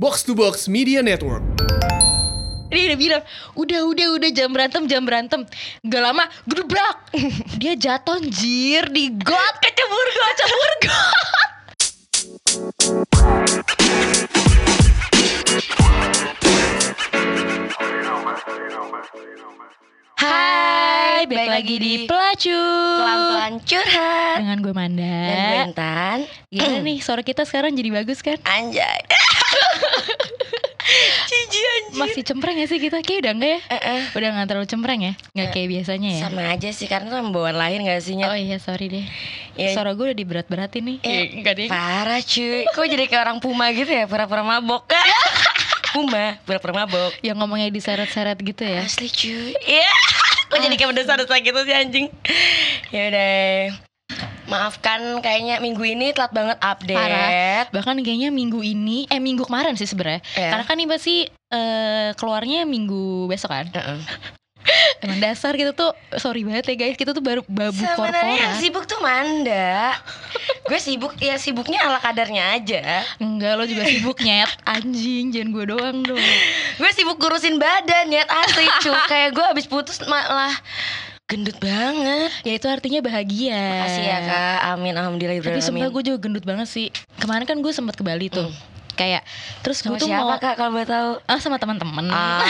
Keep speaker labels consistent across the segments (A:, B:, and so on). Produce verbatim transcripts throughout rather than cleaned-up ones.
A: Box to Box Media Network.
B: Dia udah bilang, udah udah udah jam berantem jam berantem. Gak lama, gedebrak. Dia jatuh anjir di got, kecebur got, kecebur got. Hai, balik lagi di Pelacur
C: Pelan-pelan curhat
B: dengan gue Manda
C: dan gue Intan.
B: Gimana nih, suara kita sekarang jadi bagus kan?
C: Anjay. Cici anjir.
B: Masih cempreng gak sih kita? Kayak udah enggak ya?
C: Uh-uh.
B: Udah gak terlalu cempreng ya? Gak kayak biasanya ya?
C: Sama aja sih, karena itu bawaan lahir gak sih, Nyet?
B: Oh iya, sorry deh.
C: Ya.
B: Suara gue udah diberat-beratin nih.
C: Eh,
B: Enggak deh.
C: Parah cuy. Kok jadi kayak orang Puma gitu ya, pura-pura mabok. Puma, pura-pura mabok.
B: Yang ngomongnya diseret-seret gitu ya?
C: Asli cuy. Iya. Kok jadi kayak mendesak-desak gitu sih anjing. Ya udah. Maafkan kayaknya minggu ini telat banget update.
B: Parah. Bahkan kayaknya minggu ini, eh minggu kemarin sih sebenarnya.
C: Iya.
B: Karena kan ini pasti eh, keluarnya minggu besok kan.
C: Uh-uh.
B: Emang dasar kita tuh, sorry banget ya guys, kita tuh baru babu
C: Sebenarnya yang
B: korporat.
C: sibuk tuh Manda. Gue sibuk, ya sibuknya ala kadarnya aja.
B: Enggak, lo juga sibuk nyet. Anjing, jangan gue doang dong.
C: Gue sibuk ngurusin badan, Nyet, asli cuy. Kayak gue abis putus malah gendut banget.
B: Ya itu artinya bahagia.
C: Makasih ya Kak, amin, alhamdulillah.
B: Tapi sumpah
C: amin.
B: gue juga gendut banget sih. Kemarin kan gue sempet ke Bali tuh.
C: Hmm.
B: Kayak terus gue
C: Sama
B: tuh
C: siapa
B: mau
C: Kak kalau boleh tahu?
B: ah sama teman-teman.
C: Ah.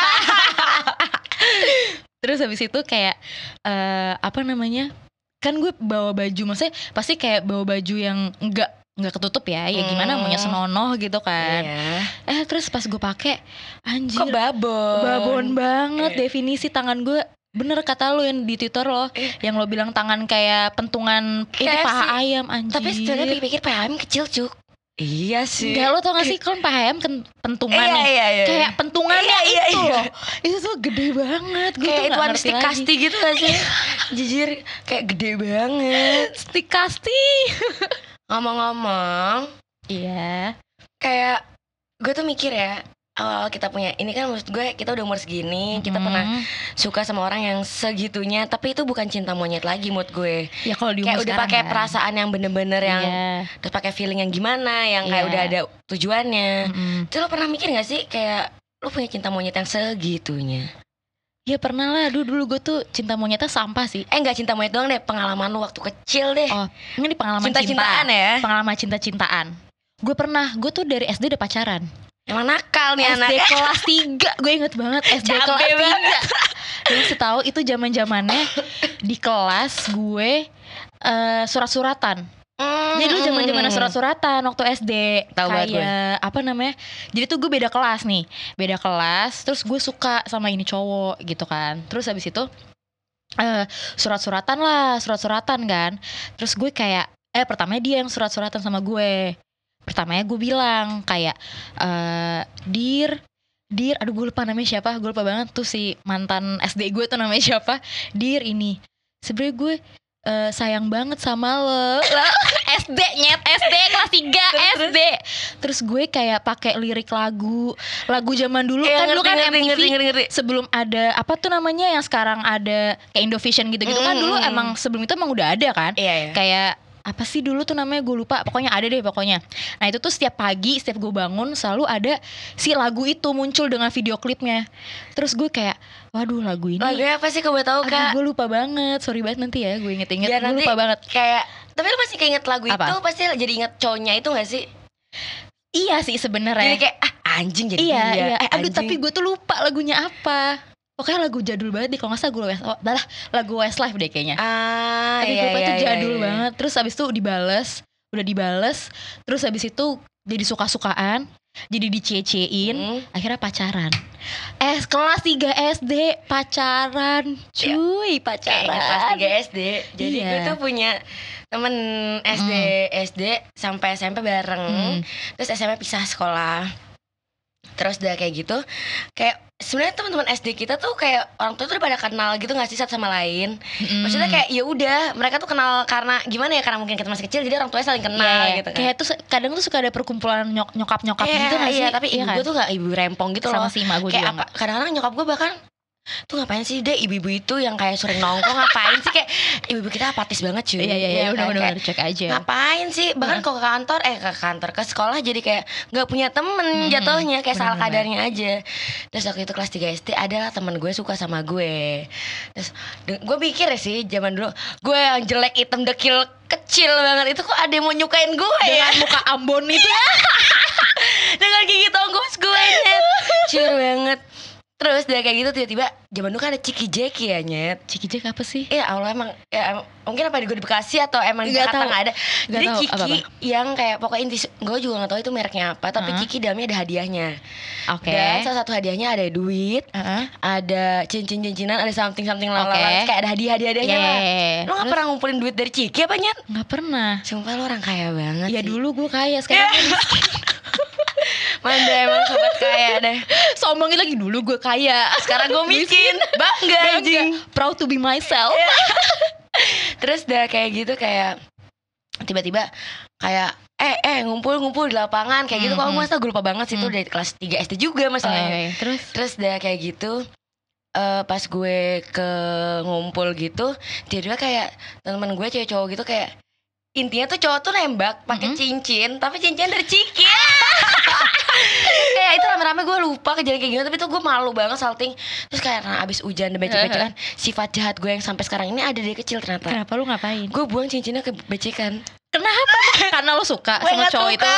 B: Terus habis itu kayak eh apa namanya? Kan gue bawa baju, maksudnya pasti kayak bawa baju yang enggak enggak ketutup ya. Ya gimana,
C: Hmm.
B: maunya senonoh gitu kan.
C: Iya.
B: Eh terus pas gue pakai anjir,
C: Kok babon?
B: babon banget.
C: Eh.
B: Definisi tangan gue bener kata lo yang di Twitter lo,
C: Eh.
B: yang lo bilang tangan kayak pentungan ini
C: K F C.
B: paha ayam anjir.
C: Tapi sebenarnya pikir-pikir paha ayam kecil cuk. Iya sih.
B: Enggak, lo tau gak sih kan paha ayam kan pentungan
C: Iya,
B: nih.
C: iya, iya.
B: Kayak pentungannya
C: Iya, iya,
B: itu
C: iya.
B: loh. Itu tuh gede banget. Gue
C: Kayak
B: tuh
C: itu
B: gak
C: ada
B: ngerti
C: stick
B: lagi.
C: kasti gitu gak sih? Jujur kayak gede banget.
B: Stick kasti.
C: Ngomong-ngomong,
B: Iya.
C: kayak gue tuh mikir ya, awal kita punya ini kan, maksud gue kita udah umur segini, kita
B: Hmm.
C: pernah suka sama orang yang segitunya, tapi itu bukan cinta monyet lagi mood gue.
B: Ya kalau di
C: Kayak
B: umur
C: udah
B: sekarang
C: pakai
B: kan.
C: perasaan yang bener-bener yang
B: Iya.
C: terus pakai feeling yang gimana, yang kayak
B: Iya.
C: udah ada tujuannya.
B: Mm-mm.
C: Itu lo pernah mikir gak sih kayak lo punya cinta monyet yang segitunya?
B: Ya pernah lah. Dulu dulu gue tuh cinta monyetnya sampah sih.
C: Eh nggak cinta monyet doang deh, pengalaman lo waktu kecil deh.
B: Oh, ini pengalaman
C: Cinta-cintaan
B: cinta.
C: ya?
B: Pengalaman cinta-cintaan. Gue pernah, gue tuh dari S D udah pacaran.
C: Emang nakal nih
B: S D
C: anak.
B: kelas tiga, gue inget banget S D
C: Cabe
B: kelas tiga.
C: banget.
B: Lu mesti tahu itu zaman-zamannya di kelas gue eh, surat-suratan.
C: Mm,
B: Jadi dulu zaman-zaman
C: mm.
B: surat-suratan waktu S D.
C: Tahu banget gue.
B: Kayak apa namanya? Jadi tuh gue beda kelas nih. Beda kelas, terus gue suka sama ini cowok gitu kan. Terus habis itu eh surat-suratan lah, surat-suratan kan. Terus gue kayak eh pertamanya dia yang surat-suratan sama gue. Pertamanya gue bilang kayak eh dir dir aduh gue lupa namanya siapa, gue lupa banget tuh si mantan S D gue tuh namanya siapa. Dir ini sebenernya gue eh, sayang banget sama lo. Lah, S D nyet, S D kelas tiga S D. Terus gue kayak pakai lirik lagu lagu zaman dulu
C: Iya,
B: kan, dulu
C: ngerti,
B: kan
C: ngerti,
B: M T V
C: ngerti, ngerti, ngerti.
B: sebelum ada apa tuh namanya yang sekarang ada kayak Indovision gitu-gitu kan,
C: Mm,
B: dulu
C: mm,
B: emang sebelum itu emang udah ada kan.
C: Iya ya.
B: Kayak apa sih dulu tuh namanya, gue lupa, pokoknya ada deh pokoknya. Nah itu tuh setiap pagi, setiap gue bangun selalu ada si lagu itu muncul dengan video klipnya. Terus gue kayak waduh lagu ini
C: Lagunya apa sih kalau boleh tahu
B: aduh,
C: Kak?
B: gue lupa banget, sorry banget nanti ya gue inget-inget.
C: Biar
B: Gue
C: nanti
B: lupa banget.
C: Kayak tapi lo masih keinget lagu
B: Apa?
C: itu, pasti jadi inget cowoknya itu gak sih?
B: Iya sih sebenarnya.
C: Jadi kayak ah anjing jadi
B: Iya
C: dia.
B: iya.
C: Eh,
B: Aduh
C: anjing.
B: tapi gue tuh lupa lagunya apa. Pokoknya lagu jadul banget deh, kalau nggak salah gue West, oh, adalah lagu Westlife deh kayaknya.
C: Ah,
B: Tapi
C: iya,
B: gue lupa
C: iya,
B: itu
C: iya,
B: jadul
C: iya.
B: banget. Terus abis itu dibales, udah dibales. Terus abis itu jadi suka-sukaan, jadi dicie-ciein.
C: Hmm.
B: Akhirnya pacaran. Eh kelas tiga S D pacaran, cuy pacaran.
C: Kayaknya kelas tiga S D. Jadi
B: Iya.
C: gue tuh punya temen S D, S D sampai S M P bareng.
B: Hmm.
C: Terus S M P pisah sekolah. Terus udah kayak gitu, kayak sebenarnya teman-teman S D kita tuh kayak orang tua tuh udah pada kenal gitu nggak sih satu sama lain.
B: Mm-mm.
C: Maksudnya kayak ya udah mereka tuh kenal karena gimana ya, karena mungkin kita masih kecil jadi orang tuanya saling kenal
B: Iya,
C: gitu kan.
B: kayak tuh kadang tuh suka ada perkumpulan nyok nyokap nyokap
C: Iya,
B: gitu nggak sih?
C: iya, tapi
B: Iya
C: ibu
B: kan?
C: gue tuh gak ibu rempong gitu
B: sama
C: loh.
B: si emak gue
C: Kayak
B: juga
C: apa?
B: nggak.
C: Kadang-kadang nyokap gue bahkan tuh ngapain sih deh ibu-ibu itu yang kayak sering nongkrong, ngapain sih, kayak ibu-ibu kita apatis banget cuy.
B: Iya iya iya,
C: kan?
B: udah bener
C: Kayak,
B: cek aja.
C: ngapain sih, bahkan
B: Heeh.
C: kok ke kantor eh ke kantor ke sekolah jadi kayak nggak punya temen
B: Mhm,
C: jatuhnya, kayak salah
B: bener-bener.
C: kadarnya aja. Terus waktu itu kelas tiga S D adalah temen gue suka sama gue. Terus de- gue pikir ya sih zaman dulu gue yang jelek hitam dekil kecil banget itu kok ada yang mau nyukain gue ya,
B: Dengan muka Ambon itu ya.
C: dengan gigi tonggos gue nyet, cur banget. Terus dari kayak gitu tiba-tiba zaman dulu kan ada Ciki Jeki ya nyet.
B: Ciki Jack apa sih?
C: Ya Allah emang ya, em- mungkin apa di gue di Bekasi atau emang di
B: Nggak
C: Jakarta
B: tahu.
C: nggak ada.
B: Nggak
C: Jadi
B: tahu,
C: Ciki
B: apa-apa?
C: yang kayak pokoknya inti gue juga nggak tahu itu mereknya apa, tapi
B: Heeh.
C: Ciki dalamnya ada hadiahnya.
B: Oke.
C: Dan salah satu hadiahnya ada duit,
B: Heeh.
C: ada cincin-cincinan, ada something-something lalala,
B: Oke.
C: kayak ada hadiah-hadiahnya lah.
B: Yeah.
C: Lo nggak pernah ngumpulin duit dari Ciki apa nyet?
B: Nggak pernah.
C: Sumpah lo orang kaya banget
B: Ya
C: sih.
B: dulu gue kaya, sekarang
C: Manda emang sobat kaya deh.
B: sombongin lagi, dulu gue kaya.
C: Sekarang gue miskin, bangga anjing.
B: Bangga. Proud to be myself.
C: Terus udah kayak gitu kayak tiba-tiba kayak eh eh ngumpul-ngumpul di lapangan kayak gitu.
B: Hmm,
C: Kalau
B: hmm.
C: gue masa gue lupa banget sih itu
B: Hmm.
C: dari kelas tiga S D juga masalahnya.
B: Oke, terus
C: Terus udah kayak gitu eh pas gue ke ngumpul gitu, tiba-tiba kayak teman gue cewek cowok gitu kayak intinya tuh cowok tuh nembak pakai
B: Mm-mm.
C: cincin, tapi cincin dari Ciki. Kayak itu rame-rame gue lupa kejadian kayak gitu, tapi tuh gue malu banget salting. Terus kayak karena abis hujan dan becek-becekan, sifat jahat gue yang sampai sekarang ini ada dari kecil ternyata.
B: kenapa lu ngapain?
C: Gue buang cincinnya ke becekan.
B: Kenapa? Karena lu suka
C: Gue
B: sama
C: nggak
B: cowok
C: suka.
B: itu.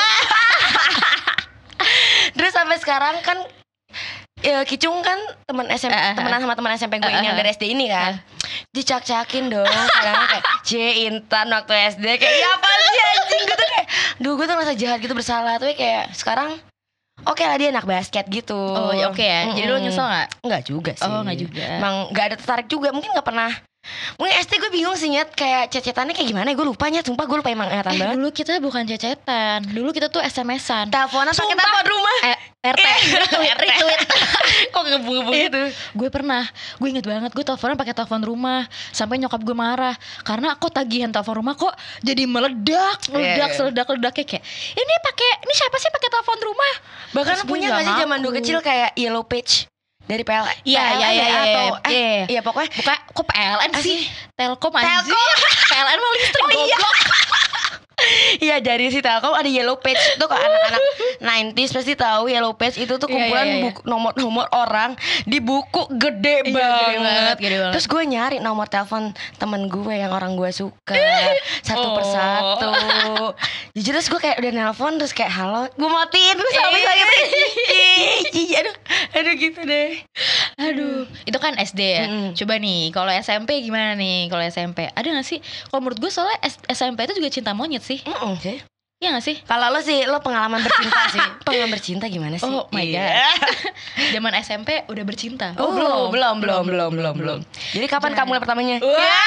C: Terus sampai sekarang kan ya, Kicung kan teman S M P,
B: Eh, eh,
C: temenan sama teman S M P gue
B: eh,
C: ini yang
B: eh.
C: dari S D ini kan. Dicak-cakin dong. Kadang kayak C Intan waktu S D kayak ya apa sih anjing, gue tuh kayak duh gue tuh ngerasa jahat gitu, bersalah. Tapi kayak sekarang oke lah dia anak basket gitu.
B: Oh ya oke ya. Jadi lu
C: Mm-mm.
B: nyesel nggak?
C: Enggak juga sih.
B: Oh nggak juga.
C: Emang gak ada tertarik juga, mungkin gak pernah. Mungkin S D gue bingung sih nyet, kayak cecetannya kayak gimana, gue lupa nyet, sumpah gue lupa emang ingatan
B: Eh,
C: banget.
B: dulu kita bukan cecetan. Dulu kita tuh S M S-an.
C: Teleponan pakai
B: Sumpah.
C: telepon rumah.
B: Eh, R T, retweet, retweet.
C: Kok ngebung-ngebung gitu?
B: Gue pernah, gue inget banget, gue teleponan pakai telepon rumah sampai nyokap gue marah karena kok tagihan telepon rumah kok jadi meledak, meledak,
C: iya.
B: seledak ledaknya kayak ini pakai, ini siapa sih pakai telepon rumah?
C: Bahkan
B: Terus gue
C: punya
B: nggak
C: gak sih zaman dulu
B: ngaku.
C: kecil kayak yellow page dari P L N?
B: Iya,
C: P L N
B: iya, iya,
C: ya,
B: iya,
C: atau
B: iya,
C: eh
B: iya.
C: iya pokoknya
B: Buka, kok P L N sih? Telkom anjing.
C: Telkom.
B: P L N mah listrik goblok.
C: iya dari si Telkom ada yellow page tuh, kalau anak-anak sembilan puluh pasti tahu yellow page itu tuh
B: Iya,
C: kumpulan
B: iya, iya.
C: buku, nomor-nomor orang di buku gede
B: Iya,
C: banget.
B: gede banget, gede banget.
C: Terus gue nyari nomor telepon temen gue yang orang gue suka satu
B: Oh.
C: persatu. Jujur terus gue kayak udah nelpon terus kayak halo, gue matiin terus sampai saya aduh, aduh gitu deh.
B: Aduh, itu kan S D ya.
C: Mm-mm.
B: Coba nih, kalau S M P gimana nih? Kalau S M P ada gak sih? Kalau menurut gue soalnya S- SMP itu juga cinta monyet sih.
C: Mm-mm sih.
B: Iya gak sih?
C: Kalau lo sih, lo pengalaman bercinta sih. Pengalaman bercinta gimana sih?
B: Oh my
C: Iya.
B: Zaman S M P udah bercinta.
C: Oh, belum, belum, belum, belum, belum, belum. Jadi kapan
B: Jadi-
C: kamu mulai pertamanya?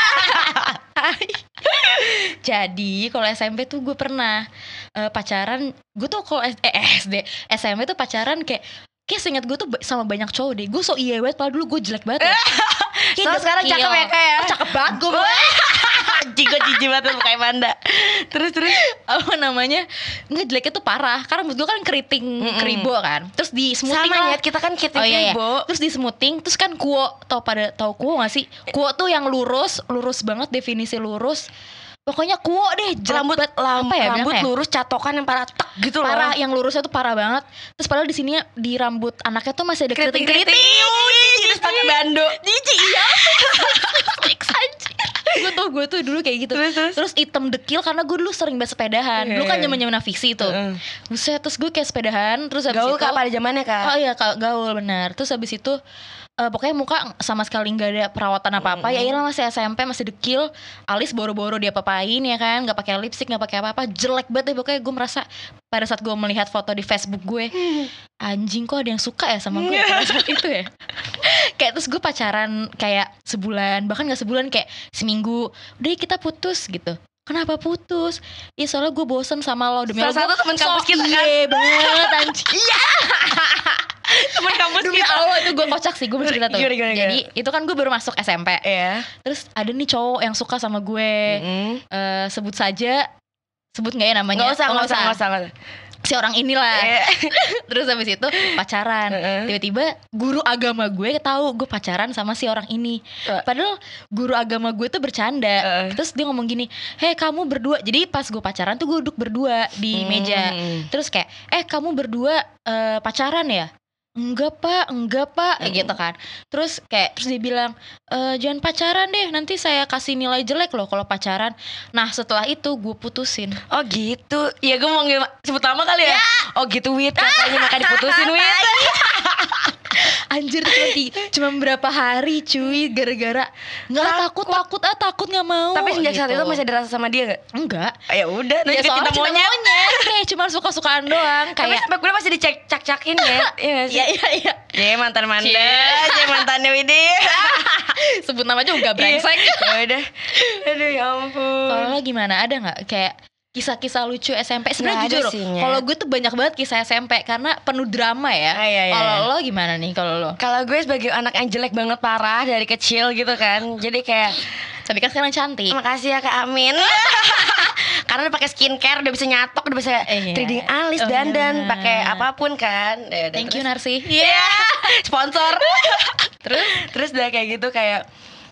B: Jadi kalau S M P tuh gue pernah eh, pacaran. Gue tuh kalau S- eh, S D, S M P tuh pacaran kayak kayak seingat gue tuh ba- sama banyak cowok deh. Gue so iya banget, padahal dulu gue jelek banget ya. Kayak
C: Soalnya sekarang
B: dekil.
C: cakep ya, Kak, ya?
B: Oh, cakep banget gue.
C: Anjing, gue jijik banget tuh kayak Manda. Terus, terus.
B: Apa namanya, nggak jeleknya tuh parah karena menurut gue kan keriting keribo kan, terus di smoothing
C: Sama
B: lah.
C: ya, kita kan kita
B: Oh iya, iya.
C: Bo.
B: Terus di smoothing, terus kan kuo, tau pada tau kuo gak sih? Kuo tuh yang lurus, lurus banget, definisi lurus. Pokoknya kuo deh, jelek
C: Rambut,
B: banget.
C: lam,
B: Apa ya
C: rambut
B: bilangnya?
C: lurus, catokan yang parah tek gitu
B: Parah,
C: loh.
B: yang lurusnya tuh parah banget. Terus padahal di sini di rambut anaknya tuh masih ada
C: Keriting-keriting.
B: keriting-keriting.
C: Terus pakai bando.
B: Jijik, iya. Fix anjir. Gue tuh gue tuh dulu kayak gitu.
C: Terus, terus?
B: Terus hitam dekil karena gue dulu sering banget sepedahan. Dulu kan
C: Iya.
B: zaman-zaman Navisi tuh.
C: Heeh.
B: Buset, terus gue kayak sepedahan, terus habis
C: Gaul
B: itu
C: kak pada zamannya kak.
B: Oh iya, Kak, gaul benar. Terus habis itu eh, pokoknya muka sama sekali nggak ada perawatan apa-apa. Ya iyalah masih S M P, masih dekil, alis boro-boro dia papain ya kan, nggak pakai lipstick, nggak pakai apa-apa, jelek banget deh. Pokoknya gue merasa pada saat gue melihat foto di Facebook gue, anjing kok ada yang suka ya sama gue pada saat itu ya. Kayak terus gue pacaran kayak sebulan, bahkan nggak sebulan, kayak seminggu. Udah kita putus gitu. Kenapa putus? Ya soalnya gue bosen sama lo. Demi
C: Salah
B: Allah,
C: satu teman kampus kita kan.
B: Iya banget anjing. Iya.
C: Temen kampus
B: Demi
C: kita.
B: Allah itu gue kocak sih, gue bercerita tuh.
C: Gimana, gimana,
B: Jadi itu kan gue baru masuk S M P.
C: Iya.
B: Terus ada nih cowok yang suka sama gue.
C: Mm-mm.
B: Eh, sebut saja, sebut nggak ya namanya?
C: Nggak usah,
B: Oh,
C: nggak usah, nggak usah, nggak usah.
B: si orang inilah.
C: Iya.
B: Terus habis itu pacaran.
C: Heeh.
B: Tiba-tiba guru agama gue tahu gue pacaran sama si orang ini.
C: Uh.
B: Padahal guru agama gue tuh bercanda.
C: Uh.
B: Terus dia ngomong gini, "Hei, kamu berdua." Jadi pas gue pacaran tuh gue duduk berdua di
C: Hmm.
B: meja. Terus kayak, "Eh, kamu berdua eh, pacaran ya?" "Enggak pak, enggak pak," kayak gitu kan. Terus kayak terus dia bilang, e, "Jangan pacaran deh, nanti saya kasih nilai jelek loh kalau pacaran." Nah setelah itu gue putusin.
C: Oh gitu. Ya gue mau nge- sebut nama kali ya. Oh gitu Wit, katanya maka diputusin Wit.
B: Anjir cuma, ti- cuma berapa hari cuy, gara-gara nggak ah, takut takut ah takut nggak mau.
C: Tapi sejak saat
B: gitu.
C: itu masih ada rasa sama dia gak?
B: Enggak.
C: Ya udah,
B: Ya
C: nunjukin
B: soalnya
C: cinta
B: cinta
C: monyet.
B: monyet kayak cuma suka-sukaan doang.
C: Tapi
B: Kayak
C: sampai kuliah masih dicak-cakin ya. Iya gak sih?
B: iya iya iya.
C: Cie mantan Manda,
B: Cie.
C: Cie mantannya Widi.
B: Sebut nama juga brengsek.
C: Ya udah. Aduh ya ampun.
B: Kalau lo gimana? Ada nggak kayak kisah-kisah lucu S M P?
C: Nggak
B: Sebenarnya
C: ada
B: jujur,
C: sih, Nyet.
B: kalau gue tuh banyak banget kisah S M P karena penuh drama ya.
C: Ah, iya, iya.
B: Kalau lo gimana nih? Kalau lo?
C: Kalau gue sebagai anak yang jelek banget parah dari kecil gitu kan. Jadi kayak
B: Tapi kan sekarang cantik.
C: makasih ya Kak Amin. Karena udah pakai skincare, udah bisa nyatok, udah bisa
B: Iya.
C: threading alis,
B: Oh,
C: dandan,
B: iya.
C: pakai apapun kan. Ya udah,
B: Thank you
C: terus-
B: Narsi.
C: Iya. Sponsor.
B: Terus
C: Terus udah kayak gitu kayak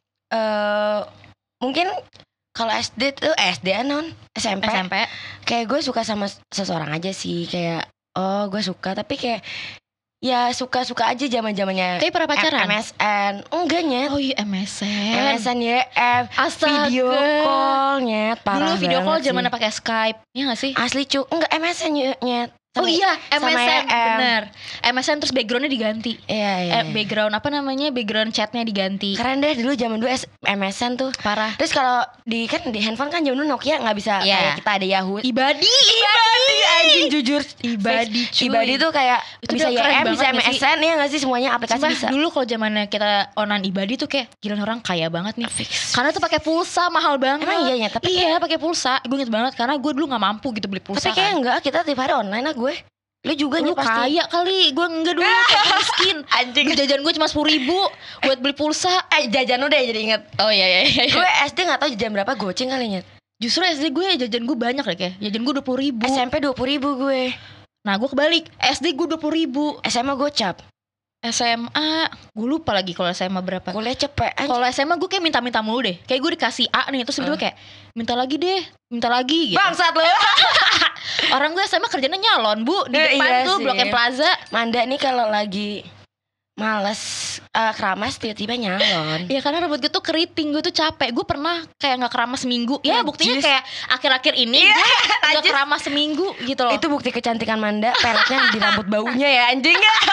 C: eh mungkin kalau S D tuh S D non S M P,
B: S M P
C: kayak gue suka sama seseorang aja sih, kayak oh gue suka, tapi kayak ya suka-suka aja zaman-zamannya
B: tapi pernah pacaran?
C: M S N. Enggak nyet.
B: Oh iya M S N.
C: M S N ya eh,
B: Astaga.
C: video call nyet, parah
B: Dulu video call
C: banget sih.
B: zamannya pakai Skype. Iya gak sih?
C: Asli cuk, enggak M S N nyet, nyet.
B: Oh
C: Sama-
B: iya M
C: sama
B: S N
C: E M.
B: bener. M S N terus backgroundnya diganti.
C: Iya iya,
B: Eh,
C: iya.
B: background apa namanya? Background chatnya diganti.
C: Keren deh dulu zaman dulu S- M S N tuh.
B: Parah.
C: Terus kalau di kan di handphone kan zaman dulu Nokia nggak bisa
B: Iya.
C: kayak kita ada Yahoo.
B: Ibadi.
C: Ibadi anjing jujur.
B: Ibadi cuy.
C: Ibadi tuh kayak
B: Itu
C: bisa
B: udah keren
C: Y M, bisa
B: banget nggak sih?
C: M S N ya nggak sih, semuanya aplikasi
B: Sumpah,
C: bisa.
B: dulu kalau zamannya kita online Ibadi tuh kayak gila orang kaya banget nih.
C: Fix.
B: Karena tuh pakai pulsa mahal banget.
C: Emang iya ya, tapi
B: iya pakai pulsa. Gue inget banget karena gue dulu nggak mampu gitu beli pulsa.
C: Tapi kayak
B: kan.
C: enggak, kita tiap hari online lah gue. Lu juga
B: Lu
C: nih pasti.
B: kaya kali, gue enggak dulu kayak miskin.
C: Anjing.
B: Duit jajan gue cuma sepuluh ribu buat beli pulsa.
C: Eh jajan udah jadi inget.
B: Oh iya iya iya.
C: Gue S D nggak tahu jajan berapa, goceng kali nyet.
B: Justru S D gue jajan gue banyak deh kayak. Jajan gue dua puluh ribu.
C: S M P dua puluh ribu gue.
B: Nah gue kebalik. S D gue dua puluh ribu.
C: S M A gocap.
B: S M A gue lupa lagi kalau S M A berapa.
C: Kuliah cepet. Anjing.
B: Kalau S M A gue kayak minta-minta mulu deh. Kayak gue dikasih A nih, terus tiba-tiba
C: Uh.
B: kayak minta lagi deh, minta lagi gitu.
C: Bangsat lu.
B: Orang gue S M A kerjanya nyalon bu di
C: Eh,
B: depan
C: iya
B: tuh
C: sih.
B: Blok M Plaza.
C: Manda nih kalau lagi males eh, keramas tiba-tiba nyalon.
B: Ya karena rambut gue tuh keriting, gue tuh capek. Gue pernah kayak nggak keramas seminggu. Ya buktinya
C: Najis.
B: kayak akhir-akhir ini
C: Iya,
B: gue nggak
C: najis.
B: keramas seminggu gitu loh.
C: Itu bukti kecantikan Manda, peletnya di rambut baunya ya anjing.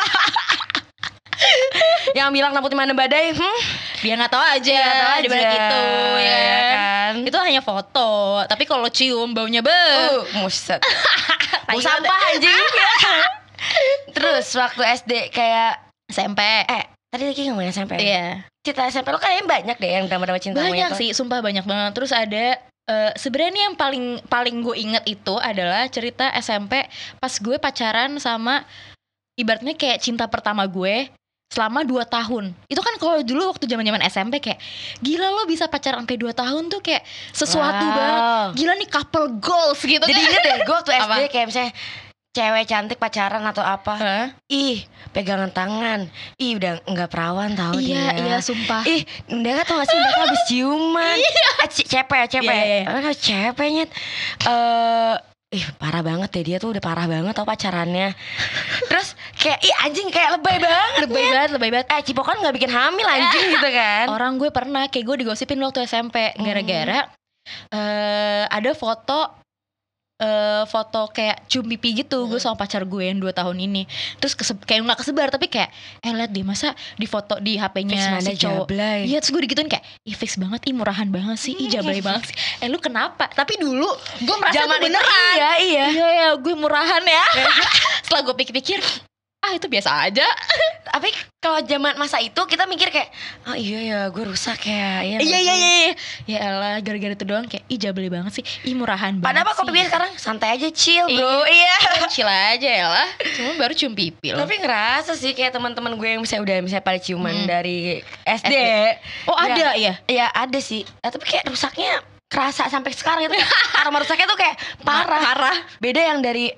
C: Yang bilang rambutnya mana badai, hmm?
B: Dia nggak tahu aja,
C: Dia nggak tahu
B: di balik
C: aja,
B: itu ya
C: ya
B: kan.
C: kan?
B: Itu hanya foto. Tapi kalau cium baunya be.
C: Uh, muset. Bau sampah anjing. Terus waktu S D kayak
B: S M P.
C: eh tadi lagi ngomongin S M P.
B: Iya.
C: Cerita S M P lo kayaknya banyak deh yang drama-drama cinta
B: Banyak
C: monyet.
B: sih, sumpah banyak banget. Terus ada eh, sebenarnya nih yang paling paling gue inget itu adalah cerita S M P pas gue pacaran sama ibaratnya kayak cinta pertama gue selama dua tahun. Itu kan kalau dulu waktu zaman-zaman S M P kayak gila lo bisa pacaran sampai dua tahun tuh kayak sesuatu
C: Wow.
B: banget. Gila nih couple goals gitu.
C: Jadi
B: kan.
C: inget deh gue waktu S D
B: Apa?
C: kayak misalnya cewek cantik pacaran atau apa.
B: Hah?
C: Ih, pegangan tangan. Ih, udah enggak perawan tau
B: Iya,
C: dia.
B: iya sumpah.
C: Ih, mereka tau gak sih mereka habis ciuman. Eh, c- cepet, cepet.
B: Iya, iya.
C: Mereka cepetnya. Eh, ih parah banget deh, dia tuh udah parah banget tau pacarannya. Terus kayak ih anjing kayak lebay banget.
B: Lebay banget, lebay banget.
C: Eh, cipokan gak bikin hamil anjing gitu kan.
B: Orang gue pernah kayak gue digosipin waktu S M P gara-gara eh ada foto eh foto kayak cium pipi gitu gue sama pacar gue yang dua tahun ini. Terus kese- kayak nggak kesebar tapi kayak eh liat deh masa di foto di H P-nya
C: Fix Manda
B: si cowok.
C: jablay.
B: Iya terus gue digituin kayak ih fix banget, ih murahan banget sih, ih jablay banget sih. Eh lu kenapa? Tapi dulu gue merasa
C: Zaman
B: itu
C: itu
B: beneran.
C: iya, iya.
B: Iya ya gue murahan ya. Setelah gue pikir-pikir ah itu biasa aja.
C: Tapi kalau zaman masa itu kita mikir kayak oh iya ya gue rusak ya. Iya
B: Iya
C: nggak
B: iya
C: sih?
B: iya. Ya elah gara-gara itu doang kayak ih jablay banget sih, ih murahan banget.
C: Padahal kok
B: sih.
C: pikir sekarang santai aja chill bro.
B: Iya. Chill aja ya lah. Cuma baru cium pipi loh.
C: Tapi ngerasa sih kayak teman-teman gue yang misalnya udah misalnya pada ciuman
B: Hmm.
C: dari S D.
B: S D. Oh
C: Ya.
B: ada ya.
C: Ya ada sih. Eh, tapi kayak rusaknya kerasa sampai sekarang itu. Aroma rusaknya tuh kayak parah.
B: Parah.
C: Beda yang dari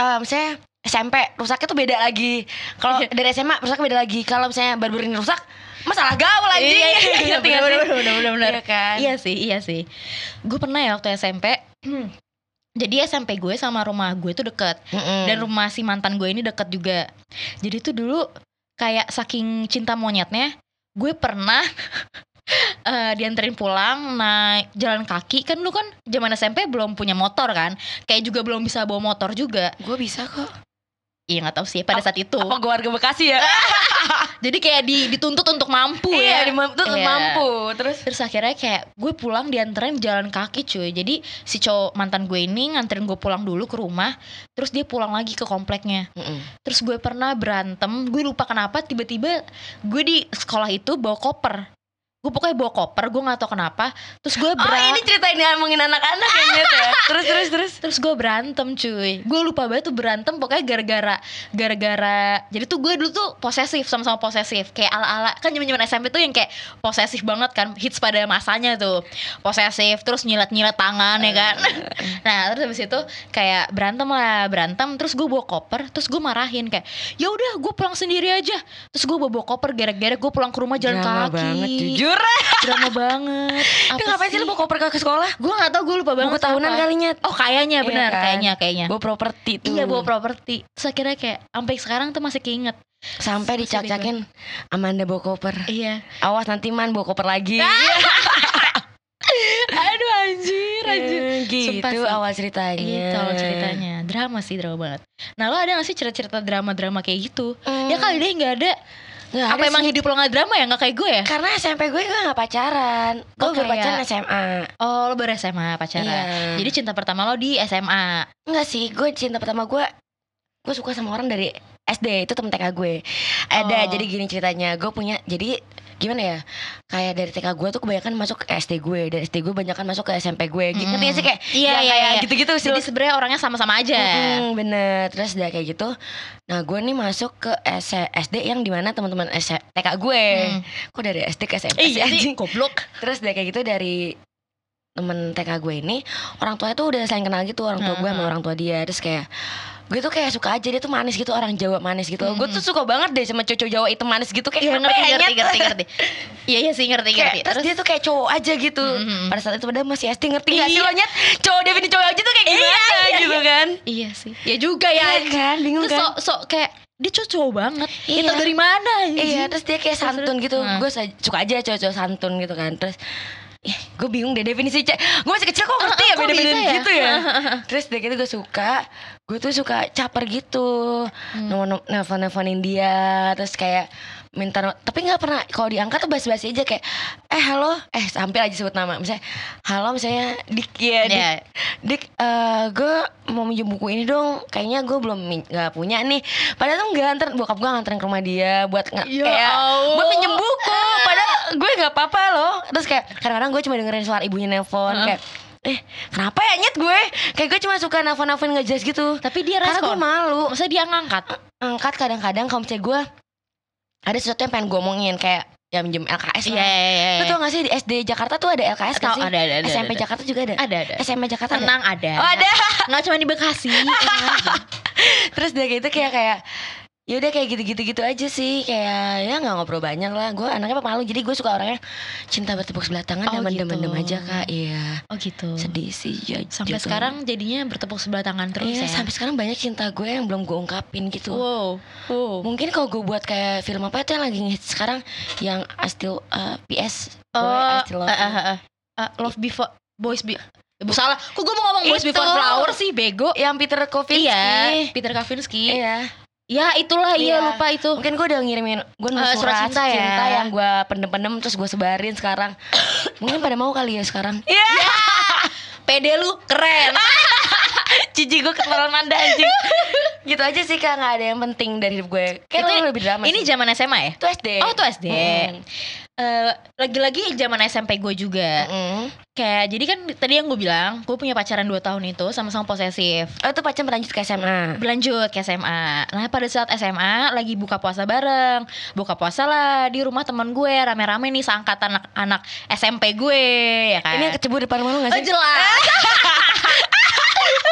C: uh, misalnya S M P rusaknya tuh beda lagi. Kalau dari S M A rusaknya beda lagi. Kalau misalnya baru-baru ini rusak, masalah gaul anjing.
B: Iya, iya, iya, bener, bener, bener, bener, bener.
C: Iya kan?
B: Iya sih, iya sih. Gue pernah ya waktu S M P. Jadi S M P gue sama rumah gue tuh deket.
C: Mm-mm.
B: Dan rumah si mantan gue ini deket juga. Jadi tuh dulu kayak saking cinta monyetnya, gue pernah uh, dianterin pulang naik jalan kaki. Kan dulu kan zaman S M P belum punya motor kan, kayak juga belum bisa bawa motor juga.
C: Gue bisa kok.
B: Iya nggak tahu sih pada saat itu.
C: Apa gue warga Bekasi ya?
B: Jadi kayak di, dituntut untuk mampu
C: Iya,
B: ya.
C: dituntut
B: Iya.
C: mampu. Terus
B: Terus akhirnya kayak gue pulang dianterin jalan kaki cuy. Jadi si cowok mantan gue ini nganterin gue pulang dulu ke rumah. Terus dia pulang lagi ke kompleknya.
C: Mm-mm.
B: Terus gue pernah berantem. Gue lupa kenapa tiba-tiba gue di sekolah itu bawa koper. Gue pokoknya bawa koper, gue gak tahu kenapa. Terus gue
C: Oh
B: berantem.
C: ini cerita ini ngomongin anak-anak kayaknya tuh ya. Terus terus terus
B: Terus gue berantem cuy. Gue lupa banget tuh berantem. Pokoknya gara-gara Gara-gara Jadi tuh gue dulu tuh posesif, sama-sama posesif. Kayak ala-ala. Kan zaman-zaman S M P tuh yang kayak posesif banget kan. Hits pada masanya tuh. Posesif. Terus nyilet-nyilet tangan ya kan. Nah terus habis itu kayak berantem lah. Berantem. Terus gue bawa koper. Terus gue marahin kayak, ya udah gue pulang sendiri aja. Terus gue bawa, bawa koper. Gara-gara gue pulang ke rumah jalan
C: Drama
B: kaki.
C: banget jujur.
B: Drama banget.
C: Itu ngapain sih lu bawa koper ke sekolah?
B: Gue gak tau, gue lupa banget.
C: Buku tahunan
B: apa.
C: kalinya.
B: Oh kayaknya
C: Iya
B: benar,
C: kan?
B: kayaknya kayaknya.
C: Bawa properti tuh.
B: Iya bawa properti. Terus akhirnya kayak sampai sekarang tuh masih keinget.
C: Sampai dicak-cakin Amanda bawa koper.
B: Iya.
C: Awas nanti Man bawa koper lagi.
B: Aduh anjir, anjir.
C: Eh, gitu
B: Sumpah sih.
C: awal ceritanya.
B: Gitu awal ceritanya. Drama sih, drama banget. Nah lo ada gak sih cerita-cerita drama-drama kayak gitu?
C: Hmm.
B: Ya kali deh gak ada.
C: Nggak
B: Apa
C: ada
B: emang
C: sih.
B: hidup lo gak drama ya? Gak kayak gue ya?
C: Karena S M P gue gue gak pacaran. Gue
B: Oh,
C: baru
B: kayak-
C: pacaran S M A.
B: Oh lo baru S M A pacaran.
C: Iya.
B: Jadi cinta pertama lo di S M A.
C: Enggak sih, gue cinta pertama gue gue suka sama orang dari S D, itu temen T K gue. Ada,
B: Oh.
C: jadi gini ceritanya. Gue punya, jadi gimana ya, kayak dari T K gue tuh kebanyakan masuk ke S D gue, dari S D gue kebanyakan masuk ke S M P gue. Gitu
B: Mm.
C: ngerti gak sih kayak
B: Iya
C: yang
B: iya
C: kayak
B: iya.
C: gitu-gitu sih.
B: Jadi sebenarnya orangnya sama-sama aja.
C: Mm, bener. Terus udah kayak gitu. Nah gue nih masuk ke S S D yang dimana teman-teman S- T K gue.
B: Hmm.
C: Kok dari S D ke S M P sih
B: Iya sih,
C: anjing?
B: goblok.
C: Terus udah kayak gitu dari temen T K gue ini, orang tuanya tuh udah saling kenal gitu, orang tua gue sama
B: Hmm.
C: orang tua dia. Terus kayak gue tuh kayak suka aja, dia tuh manis gitu, orang Jawa manis gitu.
B: Hmm.
C: Gue tuh suka banget deh sama cowok Jawa itu manis gitu. Kayak
B: Iya
C: kenapa
B: ngerti
C: ya,
B: ngerti
C: Nyet?
B: ngerti ngerti. Iya iya sih ngerti
C: Kayak,
B: ngerti.
C: terus, dia tuh kayak cowok aja gitu.
B: Mhm.
C: Pada saat itu padahal masih S D, ngerti gak sih
B: Iya.
C: lo Nyet? Cowok definisi cowok aja tuh kayak
B: Iya,
C: gimana
B: iya,
C: gitu
B: iya.
C: kan.
B: Iya sih. Ya juga ya.
C: Iya kan, bingung
B: Terus
C: kan.
B: sok sok kayak dia cowok cowok banget.
C: Iya.
B: Itu dari mana? anjing?
C: Iya, terus dia kayak
B: Terus,
C: santun
B: terus.
C: gitu.
B: Nah.
C: Gue suka aja cowok-cowok santun gitu kan. Terus ih, gue bingung deh definisi cewek. Gue masih kecil kok ngerti
B: Ah,
C: ya
B: kok
C: beda-beda
B: bisa ya?
C: gitu ya. Terus dari gitu gue suka. Gue tuh suka caper gitu.
B: Hmm.
C: Nomor nelfon-nelfonin dia. Terus kayak minta no- tapi nggak pernah kalau diangkat tuh basi-basi aja kayak eh halo eh sampai aja sebut nama misalnya halo misalnya Dik ya Dik,
B: Iya.
C: Dik eh, gue mau minjem buku ini dong kayaknya gue belum min- nggak punya nih padahal tuh nggak anter bokap gue nganterin ke rumah dia buat nggak
B: Ya
C: kayak
B: Allah.
C: buat pinjem buku padahal gue nggak apa-apa loh terus kayak kadang-kadang gue cuma dengerin suara ibunya nelpon
B: Heeh.
C: kayak eh kenapa ya Nyet gue kayak gue cuma suka nelfon-nelfon nggak jelas gitu
B: Tapi dia
C: karena gue
B: respon.
C: malu
B: Maksudnya dia ngangkat.
C: angkat kadang-kadang kalau misalnya gue ada sesuatu yang pengen gue omongin kayak ya minjem L K S
B: Iya
C: lah.
B: iya iya.
C: Lu tau gak sih di S D Jakarta tuh ada L K S kan
B: Tahu,
C: sih?
B: ada, ada, ada,
C: S M P
B: ada.
C: Jakarta juga ada.
B: Ada ada.
C: S M P Jakarta ada.
B: Tenang ada.
C: Oh ada.
B: Nggak cuma di Bekasi. tenang aja.
C: Terus dia gitu kayak kayak ya udah kayak gitu-gitu gitu aja sih kayak ya nggak ngobrol banyak lah. Gue anaknya pemalu jadi gue suka orangnya cinta bertepuk sebelah tangan
B: Oh,
C: dan mendem-mendem
B: gitu.
C: aja kak. Iya.
B: Oh gitu.
C: Sedih sih ya.
B: Sampai
C: gitu.
B: sekarang jadinya bertepuk sebelah tangan terus
C: Iya,
B: ya.
C: sampai sekarang banyak cinta gue yang belum gue ungkapin gitu.
B: Wow. Wow.
C: Mungkin kalau gue buat kayak film apa itu yang lagi ngehits sekarang yang I Still uh, P S Boy,
B: Oh,
C: I Still Love
B: eh,
C: You.
B: eh, eh, eh, Love Before Boys Be Eh, salah. Kok gue mau ngomong Boys
C: Itu.
B: Before Flower sih, bego.
C: Yang Peter Kovinsky.
B: Iya, Peter Kavinsky.
C: Iya.
B: Ya, itulah iya
C: Iya.
B: lupa itu.
C: Mungkin gue udah ngirimin gue nulis
B: Eh,
C: surat
B: surat cinta
C: cinta,
B: ya.
C: yang gue pendem-pendem terus gue sebarin sekarang. Mungkin pada mau kali ya sekarang.
B: Iya. Pede lu keren.
C: Cici gue ketularan Manda anjing. Gitu aja sih kak, nggak ada yang penting dari hidup gue. Kayak
B: Itu
C: lo lebih drama
B: Ini
C: sih.
B: zaman S M A ya?
C: Itu S D.
B: Oh, itu S D.
C: Hmm.
B: Eh, lagi-lagi zaman S M P gue juga.
C: Mm-mm.
B: Kayak jadi kan tadi yang gue bilang, gue punya pacaran dua tahun itu sama-sama posesif.
C: Oh itu pacar berlanjut ke S M A.
B: Berlanjut ke S M A. Nah pada saat S M A lagi buka puasa bareng. Buka puasa lah di rumah teman gue rame-rame nih seangkatan anak-anak S M P gue ya kan.
C: Ini yang kecebur depan rumah lu gak
B: Oh
C: sih?
B: jelas.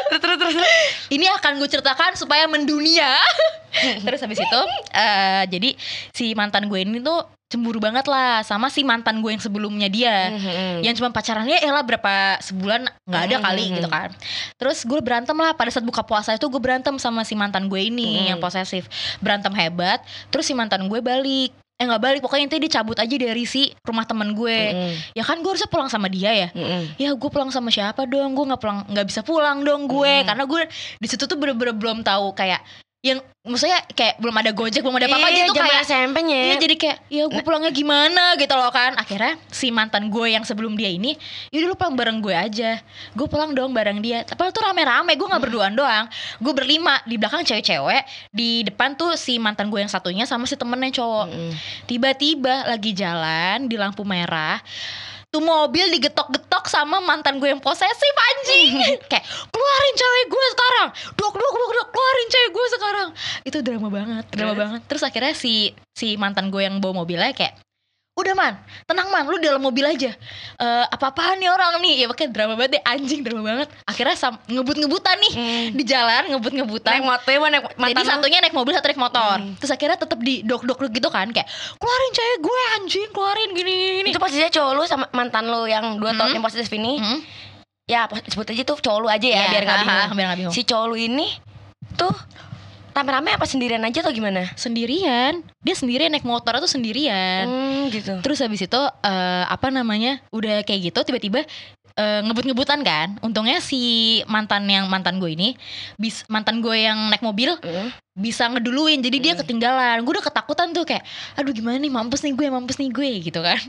C: Terus terus terus.
B: Ini akan gue ceritakan supaya mendunia. Terus habis itu uh, jadi si mantan gue ini tuh cemburu banget lah sama si mantan gue yang sebelumnya dia,
C: Mm-hmm.
B: yang cuma pacarannya elah berapa sebulan nggak ada kali
C: Mm-hmm.
B: gitu kan. Terus gue berantem lah pada saat buka puasa itu, gue berantem sama si mantan gue ini
C: Mm-hmm.
B: yang posesif, berantem hebat. Terus si mantan gue balik, eh nggak balik, pokoknya intinya dia cabut aja dari si rumah temen gue.
C: Mm-hmm.
B: Ya kan gue harusnya pulang sama dia ya.
C: Mm-hmm.
B: Ya gue pulang sama siapa dong, gue nggak pulang, nggak bisa pulang dong gue,
C: Mm-hmm.
B: karena gue di situ tuh bener-bener belum tahu kayak yang maksudnya kayak belum ada Gojek, belum ada apa-apa
C: Iya,
B: gitu
C: zaman
B: kayak
C: S M P-nya.
B: iya, jadi kayak ya gue pulangnya gimana gitu loh kan. Akhirnya si mantan gue yang sebelum dia ini, yaudah lu pulang bareng gue aja. Gue pulang dong bareng dia. Tapi tuh rame-rame, gue gak berduaan doang, gue berlima, di belakang cewek-cewek, di depan tuh si mantan gue yang satunya sama si temennya cowok.
C: Mm-hmm.
B: Tiba-tiba lagi jalan di lampu merah, tuh mobil digetok-getok sama mantan gue yang posesif anjing. Kayak keluarin cewek gue sekarang, dok dok dok dok, keluarin cewek gue sekarang. Itu drama banget, drama
C: Terus?
B: banget. Terus akhirnya si si mantan gue yang bawa mobilnya kayak, udah man, tenang man, lu dalam mobil aja. Eh, apa-apaan nih orang nih, ya pakai drama banget deh, anjing drama banget. Akhirnya sam- ngebut-ngebutan nih
C: Mm.
B: di jalan, ngebut-ngebutan.
C: Naik motor mana naik
B: Jadi
C: mantan lu?
B: satunya naik mobil, satu naik motor.
C: Hmm.
B: Terus akhirnya tetap di dok-dok gitu kan, kayak keluarin cewek gue anjing, keluarin gini gini.
C: Itu posisinya cowok lu sama mantan lu yang dua tahun
B: Hmm.
C: yang positif ini.
B: Hmm.
C: Ya sebut aja tuh cowok lu aja ya,
B: Iya,
C: biar gak
B: ha,
C: bingung.
B: ha, biar nggak bingung.
C: Si cowok lu ini tuh rame-rame apa sendirian aja atau gimana?
B: Sendirian, dia sendirian naik motor tuh sendirian.
C: Hmm, gitu.
B: Terus habis itu eh, apa namanya, udah kayak gitu tiba-tiba eh, ngebut-ngebutan kan. Untungnya si mantan yang mantan gue ini, bis mantan gue yang naik mobil
C: Mm.
B: bisa ngeduluin, jadi dia
C: Hmm.
B: ketinggalan. Gue udah ketakutan tuh kayak, aduh gimana nih, mampus nih gue, mampus nih gue gitu kan.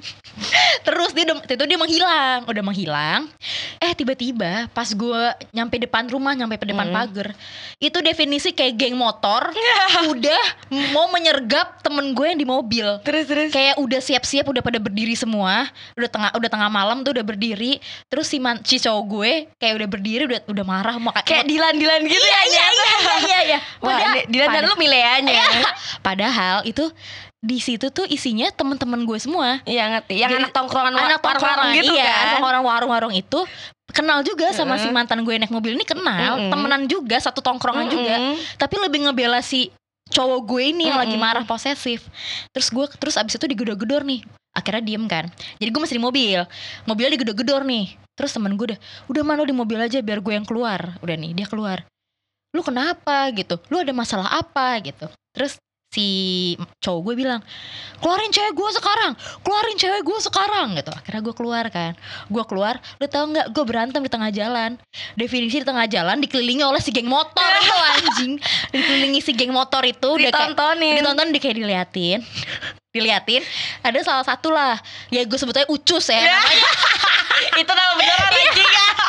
B: Terus dia udah- itu dia menghilang, udah menghilang. Eh tiba-tiba pas gue nyampe depan rumah, nyampe ke depan
C: Hmm.
B: pagar, itu definisi kayak geng motor udah mau menyergap temen gue yang di mobil.
C: Terus terus.
B: Kayak udah siap-siap, udah pada berdiri semua, udah tengah udah tengah malam tuh udah berdiri. Terus si, man, si cowok gue kayak udah berdiri, udah udah marah mau
C: Kayak Dilan-Dilan gitu
B: iya,
C: ya.
B: iya, iya, iya, iya, iya.
C: Wah,
B: Padahal-
C: ini Dilan dan
B: pada-
C: lu mileanya.
B: Iya. Padahal itu di situ tuh isinya teman-teman gue semua.
C: Iya ngerti. Yang
B: Jadi,
C: anak tongkrongan wa-
B: Anak
C: warung-warung
B: tongkrongan
C: gitu
B: iya,
C: kan.
B: orang warung-warung itu kenal juga sama si
C: Mm-mm.
B: mantan gue yang naik mobil ini, kenal,
C: Mm-mm.
B: temenan juga, satu tongkrongan juga.
C: Mm-mm.
B: Tapi lebih ngebela si cowok gue ini yang lagi
C: Mm-mm.
B: marah posesif. Terus gue terus abis itu digedor-gedor nih. Akhirnya diem kan. Jadi gue masih di mobil. Mobilnya digedor-gedor nih. Terus temen gue udah, udah man, lu di mobil aja biar gue yang keluar. Udah nih, dia keluar. Lu kenapa gitu? Lu ada masalah apa gitu? Terus si cowok gue bilang, keluarin cewek gue sekarang, keluarin cewek gue sekarang gitu. Akhirnya gue keluar kan. Gue keluar, lu tau gak, gue berantem di tengah jalan. Definisi di tengah jalan dikelilingi oleh si geng motor itu anjing. Dikelilingi si geng motor itu udah kayak
C: Ditontonin.
B: ditonton, dia kayak diliatin. Diliatin, ada salah satu lah, ya gue sebut aja Ucus ya namanya.
C: Itu nama beneran anjing.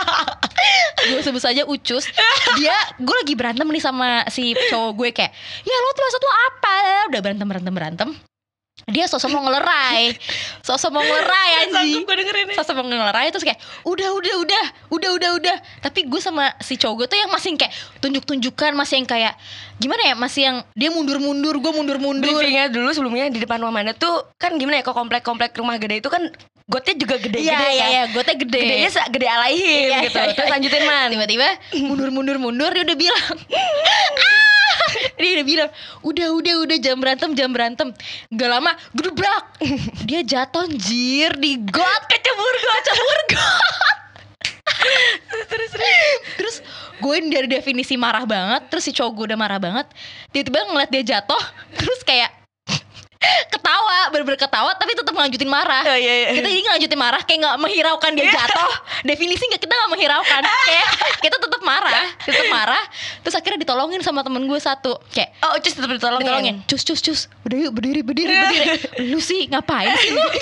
B: Gue sebut saja Ucus. Dia, gue lagi berantem nih sama si cowok gue kayak, ya lo tuh maksud lo apa? Udah berantem berantem berantem. Dia sosok mau ngelerai, sosok mau ngelerai anjing.
C: Gue dengerin nih.
B: Sosok mau ngelerai terus kayak, udah udah udah, udah udah udah. Tapi gue sama si cowok gue tuh yang masih kayak tunjuk-tunjukkan, masih yang kayak gimana ya, masih yang dia mundur-mundur, gue mundur-mundur.
C: Briefingnya dulu sebelumnya di depan rumah mana tuh kan gimana ya, kok komplek-komplek rumah gede itu kan gotnya juga gede-gede
B: Iya
C: kan.
B: iya iya, gue tuh gede.
C: Gedenya se- gede alaihim
B: Iya,
C: gitu.
B: iya, iya.
C: Terus lanjutin man.
B: Tiba-tiba mundur-mundur-mundur, dia udah bilang, ah! Dia udah bilang, udah udah udah jam berantem jam berantem. Gak lama gedebrak, dia jatuh anjir di got, kecebur got, kecebur got. terus terus gue dari definisi marah banget, terus si cowok gue udah marah banget, tiba-tiba ngeliat dia jatuh, terus kayak ketawa, bener-bener ketawa tapi tetap ngelanjutin marah.
C: Oh, iya, iya.
B: Kita jadi ngelanjutin marah kayak nggak menghiraukan dia jatuh. Definisi nggak, kita nggak menghiraukan. Kayak kita tetap marah, tetap marah. Terus akhirnya ditolongin sama temen gue satu. Kayak
C: Oh, Ucus tetap ditolongin.
B: ditolongin. Cus cus cus. Udah yuk berdiri berdiri berdiri. Lu sih ngapain sih lu?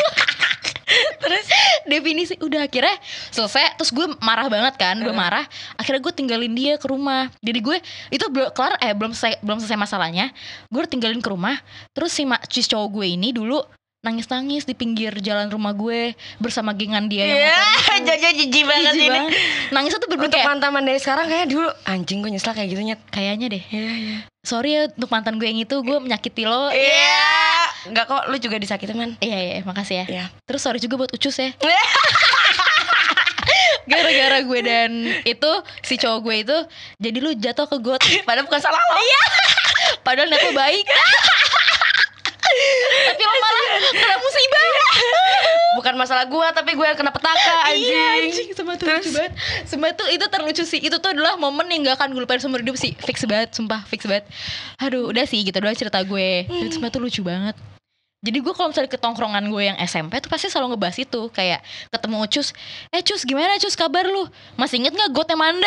B: Terus definisi udah akhirnya selesai. Terus gue marah banget kan, gue marah. Akhirnya gue tinggalin dia ke rumah. Jadi gue itu belum kelar, eh belum selesai belum selesai masalahnya. Gue tinggalin ke rumah. Terus si ma- cis cowok gue ini dulu nangis-nangis di pinggir jalan rumah gue bersama gengan dia yang
C: Iya,
B: motor itu.
C: Jojo jijik banget
B: Jijik
C: ini.
B: banget. Nangisnya tuh bener-bener
C: Untuk
B: kayak,
C: mantan dari sekarang kayak dulu anjing gue nyesel kayak gitu nyet.
B: kayaknya deh.
C: Iya, iya.
B: Sorry ya untuk mantan gue yang itu, gue menyakiti lo.
C: Iya. Enggak kok, lu juga disakitin man.
B: Iya iya, makasih ya.
C: Iya.
B: Terus sorry juga buat Ucus ya. Gara-gara gue dan itu si cowok gue itu jadi lu jatuh ke got.
C: Padahal bukan salah lo. Iya.
B: Padahal niat lu baik. Tapi lo malah kena musibah.
C: Bukan masalah gua, tapi gue yang kena petaka anjing.
B: Iya anjing, sumpah tuh lucu banget. Sumpah tuh itu terlucu sih. Itu tuh adalah momen yang gak akan gue lupain seumur hidup sih. Fix banget, sumpah fix banget. Aduh udah sih gitu doang cerita gue. Tapi sumpah tuh lucu banget. Jadi gue kalau misalnya ke tongkrongan gue yang S M P tuh pasti selalu ngebahas itu. Kayak ketemu Cus, eh Cus gimana Cus kabar lu? Masih inget gak gotnya Manda?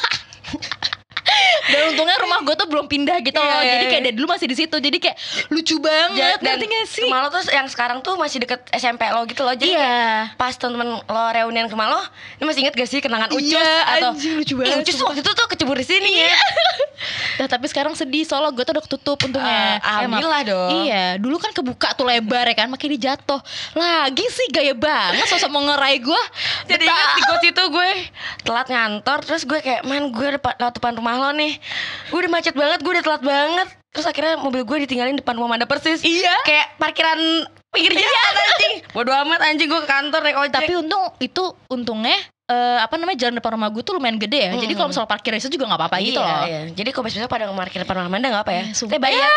B: Dan untungnya rumah gue tuh belum pindah gitu loh.
C: Iya, iya,
B: Jadi kayak
C: iya.
B: dari dulu masih di situ. Jadi kayak lucu banget.
C: Dan
B: Ngerti gak sih?
C: rumah lo tuh yang sekarang tuh masih deket S M P lo gitu loh. Jadi
B: Iya.
C: kayak pas temen-temen lo reunian ke rumah lo, ini masih inget gak sih kenangan Ucus?
B: Iya,
C: Atau
B: anjing, lucu
C: "Ih,
B: banget,
C: Ucus
B: sumpah."
C: waktu itu tuh kecebur di sini ya.
B: Nah tapi sekarang sedih soalnya gue tuh udah ketutup untungnya.
C: Eh, alhamdulillah
B: Emang.
C: dong.
B: Iya, dulu kan kebuka tuh lebar ya kan, makin dia jatuh. Lagi sih gaya banget sosok mau ngerai gue.
C: Jadi ingat di got itu gue telat ngantor. Terus gue kayak, man gue depan, lewat depan rumah lo nih. Gue udah macet banget, gue udah telat banget. Terus akhirnya mobil gue ditinggalin depan rumah Manda persis.
B: Iya.
C: Kayak parkiran pinggir jalan anjing. Bodo amat anjing, gue ke kantor naik ojek.
B: Tapi untung itu untungnya eh, apa namanya jalan depan rumah gue tuh lumayan gede ya. Jadi kalau misal parkir itu juga nggak apa-apa
C: iya,
B: gitu loh.
C: iya. Jadi kalau besok pada nge-parkir depan rumah Manda gak apa ya?
B: Eh, sumpah.
C: Saya bayar.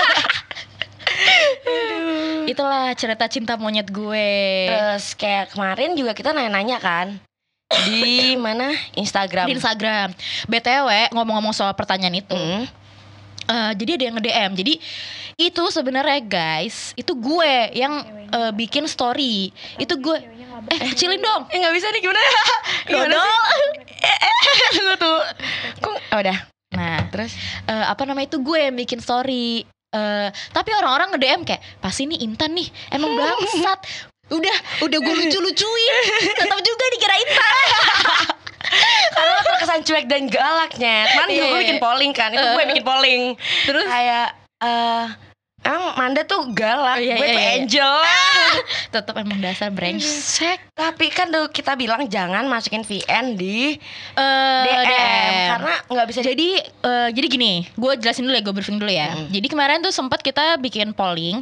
B: Itulah cerita cinta monyet gue.
C: Terus kayak kemarin juga kita nanya-nanya kan di mana Instagram.
B: Di Instagram. B T W ngomong-ngomong soal pertanyaan itu.
C: Mm.
B: Eh, jadi ada yang nge-D M. Jadi itu sebenarnya guys, itu gue yang eh, bikin story. Itu gue eh kecilin dong.
C: Eh nggak bisa nih gimana? Gimana
B: Dodol.
C: sih? Eh, eh, tunggu tuh. Kok oh, udah.
B: Nah,
C: Terus
B: eh, apa namanya itu gue yang bikin story. Eh, tapi orang-orang nge-D M kayak pasti nih Intan nih emang bangsat. Udah, udah gue lucu-lucuin, tetap juga dikira Intan.
C: karena lo terkesan cuek dan galaknya. Kemarin juga
B: Iya,
C: gue
B: iya.
C: bikin polling kan. Itu gue yang bikin polling.
B: Terus
C: Kayak eh emang Manda tuh galak,
B: Oh, iya,
C: gue
B: iya,
C: tuh
B: iya.
C: angel.
B: tetap emang dasar brengsek.
C: Tapi kan tuh kita bilang jangan masukin V N di
B: Eh,
C: D M,
B: D M.
C: karena nggak bisa.
B: Jadi eh, jadi gini, gue jelasin dulu ya, gue briefing dulu ya.
C: Mm.
B: Jadi kemarin tuh sempat kita bikin polling,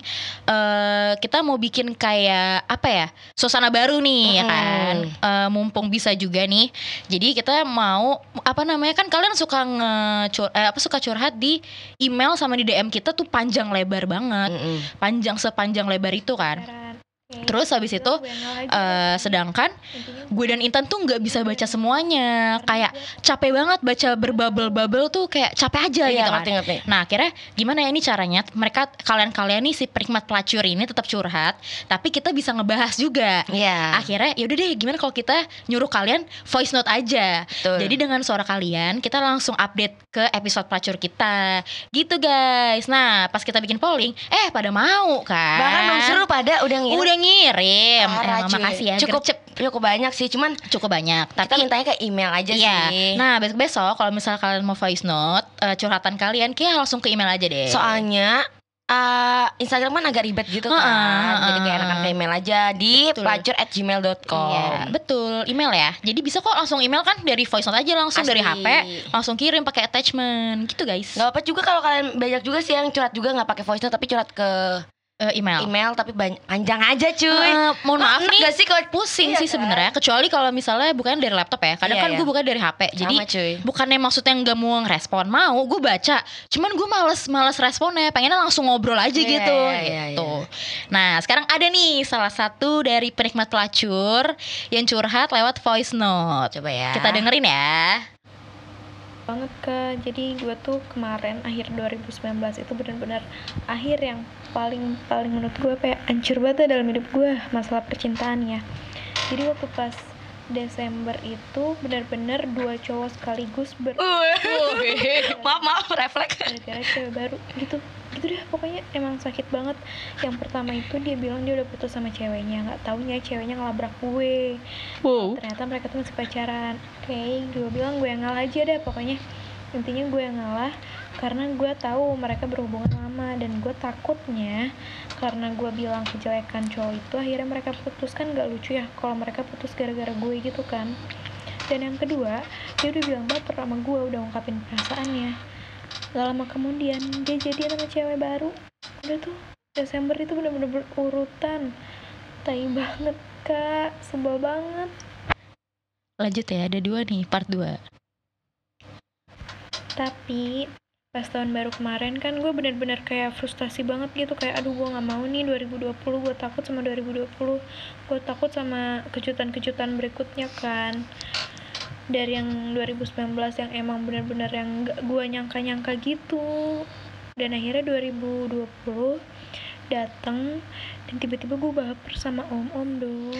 B: eh kita mau bikin kayak apa ya, suasana baru nih ya
C: Mm.
B: kan. Eh, mumpung bisa juga nih. Jadi kita mau apa namanya kan kalian suka nge eh, apa suka curhat di email sama di D M kita tuh panjang lebar banget,
C: Mm-mm.
B: panjang sepanjang lebar itu kan. Terus habis itu eh, sedangkan gue dan Intan tuh nggak bisa baca semuanya, kayak capek banget baca berbabel-babel tuh kayak capek aja
C: Iya,
B: gitu kan.
C: ngerti-ngerti.
B: Nah akhirnya gimana ya ini caranya mereka kalian-kalian nih si penikmat pelacur ini tetap curhat, tapi kita bisa ngebahas juga.
C: Iya.
B: Akhirnya yaudah deh gimana kalau kita nyuruh kalian voice note aja.
C: Betul.
B: Jadi dengan suara kalian kita langsung update ke episode pelacur kita. Gitu guys. Nah pas kita bikin polling, eh pada mau kan.
C: Bahkan belum seru pada udah ngirim.
B: Udah ngirim.
C: Parah,
B: Eh,
C: cuy.
B: makasih ya.
C: Cukup
B: gercep.
C: cukup banyak sih, cuman
B: Cukup banyak.
C: kita
B: Tapi
C: mintanya ke email aja
B: iya.
C: sih.
B: Nah besok besok kalau misal kalian mau voice note eh, curhatan kalian kayak langsung ke email aja deh.
C: Soalnya uh, Instagram kan agak ribet gitu kan.
B: Heeh,
C: Jadi kayak
B: heeh.
C: enakan ke email aja di
B: Betul.
C: pelacur at gmail dot com.
B: Iya, betul, email ya. Jadi bisa kok langsung email kan dari voice note aja langsung
C: Asli.
B: dari H P, langsung kirim pakai attachment gitu guys.
C: Gak apa juga kalau kalian banyak juga sih yang curhat juga nggak pakai voice note tapi curhat ke
B: Eh, email.
C: email tapi banyak panjang aja cuy.
B: Eh, mohon maaf
C: Enak
B: nih,
C: gak sih kalau
B: pusing
C: Iya
B: sih
C: kan?
B: sebenarnya. Kecuali kalau misalnya bukan dari laptop ya. Kadang
C: Iya,
B: kan
C: iya.
B: gue bukan dari H P. Jadi
C: Sama, cuy.
B: bukannya maksudnya nggak mau ngerespon, mau gue baca. Cuman gue males males responnya. Pengennya langsung ngobrol aja
C: Iya,
B: gitu.
C: iya, iya,
B: gitu. Nah sekarang ada nih salah satu dari penikmat pelacur yang curhat lewat voice note.
C: Coba ya.
B: Kita dengerin ya.
D: banget Kak. Jadi gue tuh kemarin akhir dua ribu sembilan belas itu benar-benar akhir yang paling paling menurut gue kayak hancur banget dalam hidup gue masalah percintaannya. Jadi waktu pas Desember itu benar-benar dua cowok sekaligus ber
C: maaf maaf refleks.
D: gara-gara cewek baru gitu gitu deh, pokoknya emang sakit banget. Yang pertama itu dia bilang dia udah putus sama ceweknya, nggak taunya ceweknya ngelabrak gue.
B: Wow.
D: Ternyata mereka tuh masih pacaran. Oke, gue bilang gue yang ngalah aja deh, pokoknya intinya gue yang ngalah karena gue tahu mereka berhubungan lama dan gue takutnya karena gue bilang kejelekan cowok itu akhirnya mereka putus. Kan gak lucu ya kalau mereka putus gara-gara gue gitu kan. Dan yang kedua, dia udah bilang baper sama gue, udah ungkapin perasaannya. Gak lama kemudian dia jadian sama cewek baru. Udah tuh Desember itu bener-bener berurutan. Tai banget Kak, sebel banget.
B: lanjut ya, ada dua nih, part dua.
D: Tapi pas tahun baru kemarin kan gue benar-benar kayak frustasi banget gitu, kayak aduh gue nggak mau nih dua ribu dua puluh, gue takut sama dua ribu dua puluh, gue takut sama kejutan-kejutan berikutnya kan, dari yang dua ribu sembilan belas yang emang benar-benar yang gak gue nyangka-nyangka gitu. Dan akhirnya dua ribu dua puluh datang dan tiba-tiba gue baper sama om-om dong.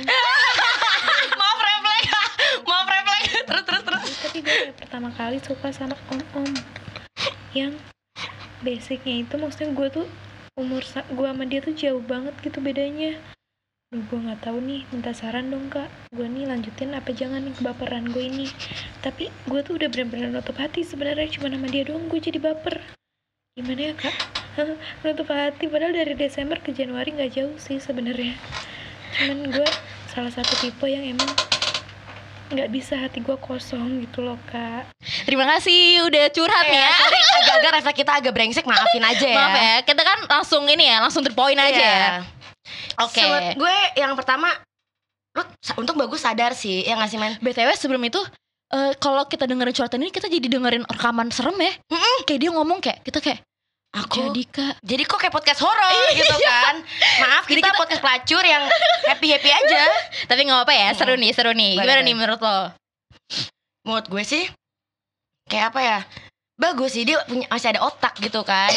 C: Maaf refleks, maaf refleks. Terus terus terus.
D: Tapi gue kayak pertama kali suka sama om-om yang basicnya itu, maksudnya gue tuh umur sa- gue sama dia tuh jauh banget gitu bedanya. Duh, gue nggak tahu nih, minta saran dong kak, gue nih lanjutin apa jangan nih kebaperan gue ini. Tapi gue tuh udah benar-benar nutup hati sebenarnya, cuma sama dia doang gue jadi baper. Gimana ya kak? Nutup hati, padahal dari Desember ke Januari nggak jauh sih sebenarnya. Cuman gue salah satu tipe yang emang nggak bisa hati gue kosong gitu loh kak.
B: Terima kasih udah curhat nih ya.
C: Sorry, agak-agak refleks kita agak brengsek, maafin aja ya.
B: Maaf ya, kita kan langsung ini ya, langsung terpoin aja
C: Iya.
B: ya. Oke.
C: Menurut gue yang pertama, lu sa- untuk bagus sadar sih, ya nggak sih men?
B: B T W sebelum itu, eh, kalau kita dengerin curhatan ini, kita jadi dengerin rekaman serem ya. Kayak dia ngomong kayak, kita kayak,
C: Aku
B: jadi kak,
C: jadi kok kayak podcast horor gitu kan. Maaf,
B: Jadi
C: kita,
B: kita-
C: podcast pelacur yang happy-happy aja.
B: tapi gak apa ya, seru
C: Mm-mm.
B: nih, seru nih.
C: Boleh,
B: Gimana
C: boleh.
B: nih menurut lo?
C: Menurut gue sih kayak apa ya, bagus sih, dia punya, masih ada otak gitu kan.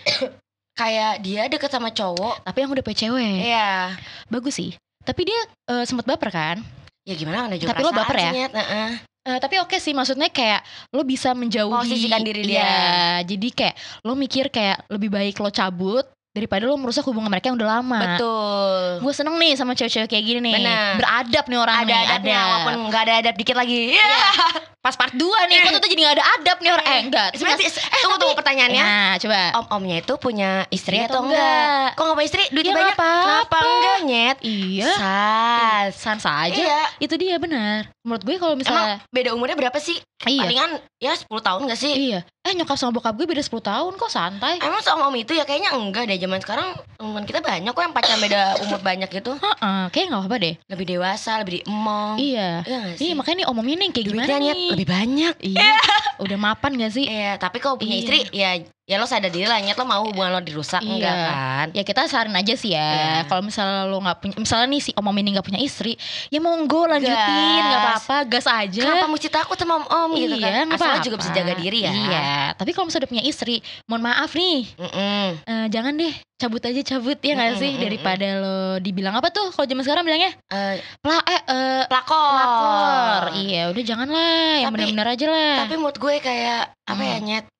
C: Kayak dia deket sama cowok.
B: Tapi yang udah punya cewek,
C: Iya.
B: bagus sih. Tapi dia eh, sempat baper kan?
C: Ya gimana, ada juga
B: Tapi lo
C: perasaan
B: baper ya?
C: sih, Nyet. Heeh.
B: Eh, tapi oke sih, maksudnya kayak lo bisa menjauhi.
C: Posisikan diri dia.
B: Iya, jadi kayak lo mikir kayak lebih baik lo cabut daripada lo merusak hubungan mereka yang udah lama.
C: Betul.
B: Gue seneng nih sama cewek-cewek kayak gini nih.
C: Bener.
B: Beradab nih orang
C: Ada
B: nih.
C: adabnya,
B: ada.
C: walaupun nggak ada adab dikit lagi. Iya.
B: Pas part dua nih, kok tuh jadi gak ada adab nih orang. Eh enggak.
C: Sebenarnya
B: Terus-
C: eh, tunggu tunggu pertanyaannya.
B: Nah, coba.
C: Om-omnya itu punya istri
B: Iya
C: atau
B: atau
C: enggak?
B: enggak?
C: Kok nggak punya istri? Duitnya
B: Ya,
C: banyak.
B: nggak apa-apa.
C: Kenapa enggak, Nyet?
B: Iya.
C: Sas.
B: Sans aja.
C: Iya.
B: Itu dia benar. Menurut gue kalau
C: Emang
B: misalnya
C: beda umurnya berapa sih?
B: iya.
C: Palingan ya sepuluh tahun gak sih?
B: Iya. Eh nyokap sama bokap gue beda sepuluh tahun kok, santai.
C: Emang sama om itu ya kayaknya enggak deh. Zaman sekarang teman kita banyak kok yang pacaran beda umur banyak gitu.
B: Heeh, kayak enggak apa-apa deh.
C: Lebih dewasa, lebih emong.
B: Iya.
C: Iya gak sih?
B: Iya, makanya nih omongin nih kayak
C: Duitnya,
B: gimana
C: Nyet,
B: nih?
C: lebih banyak.
B: Iya. Udah mapan gak sih?
C: Iya, tapi kalau punya
B: Iya.
C: istri ya ya lo sadar diri lah, Nyet, lo mau hubungan lo dirusak
B: Iya.
C: enggak kan?
B: Ya kita saran aja sih ya.
C: Iya.
B: Kalau misalnya lo nggak punya, misalnya nih si om-om ini nggak punya istri, ya monggo lanjutin, nggak
C: Gas.
B: apa-apa, gas aja.
C: Kenapa mesti takut sama om-om gitu
B: Iya,
C: kan?
B: nggak
C: Asal lo
B: apa-apa.
C: juga bisa jaga diri ya.
B: Iya. Tapi kalau misalnya udah punya istri, mohon maaf nih,
C: Mm-mm.
B: eh, jangan deh cabut aja cabut ya nggak
C: Mm-mm,
B: sih,
C: mm-mm.
B: daripada lo dibilang apa tuh kalau zaman sekarang bilangnya
C: Eh,
B: pla eh eh,
C: pelakor.
B: pelakor. Iya, udah jangan lah, yang
C: Tapi-
B: benar-benar aja lah.
C: Tapi menurut gue kayak apa ya,
B: Hmm.
C: Nyet?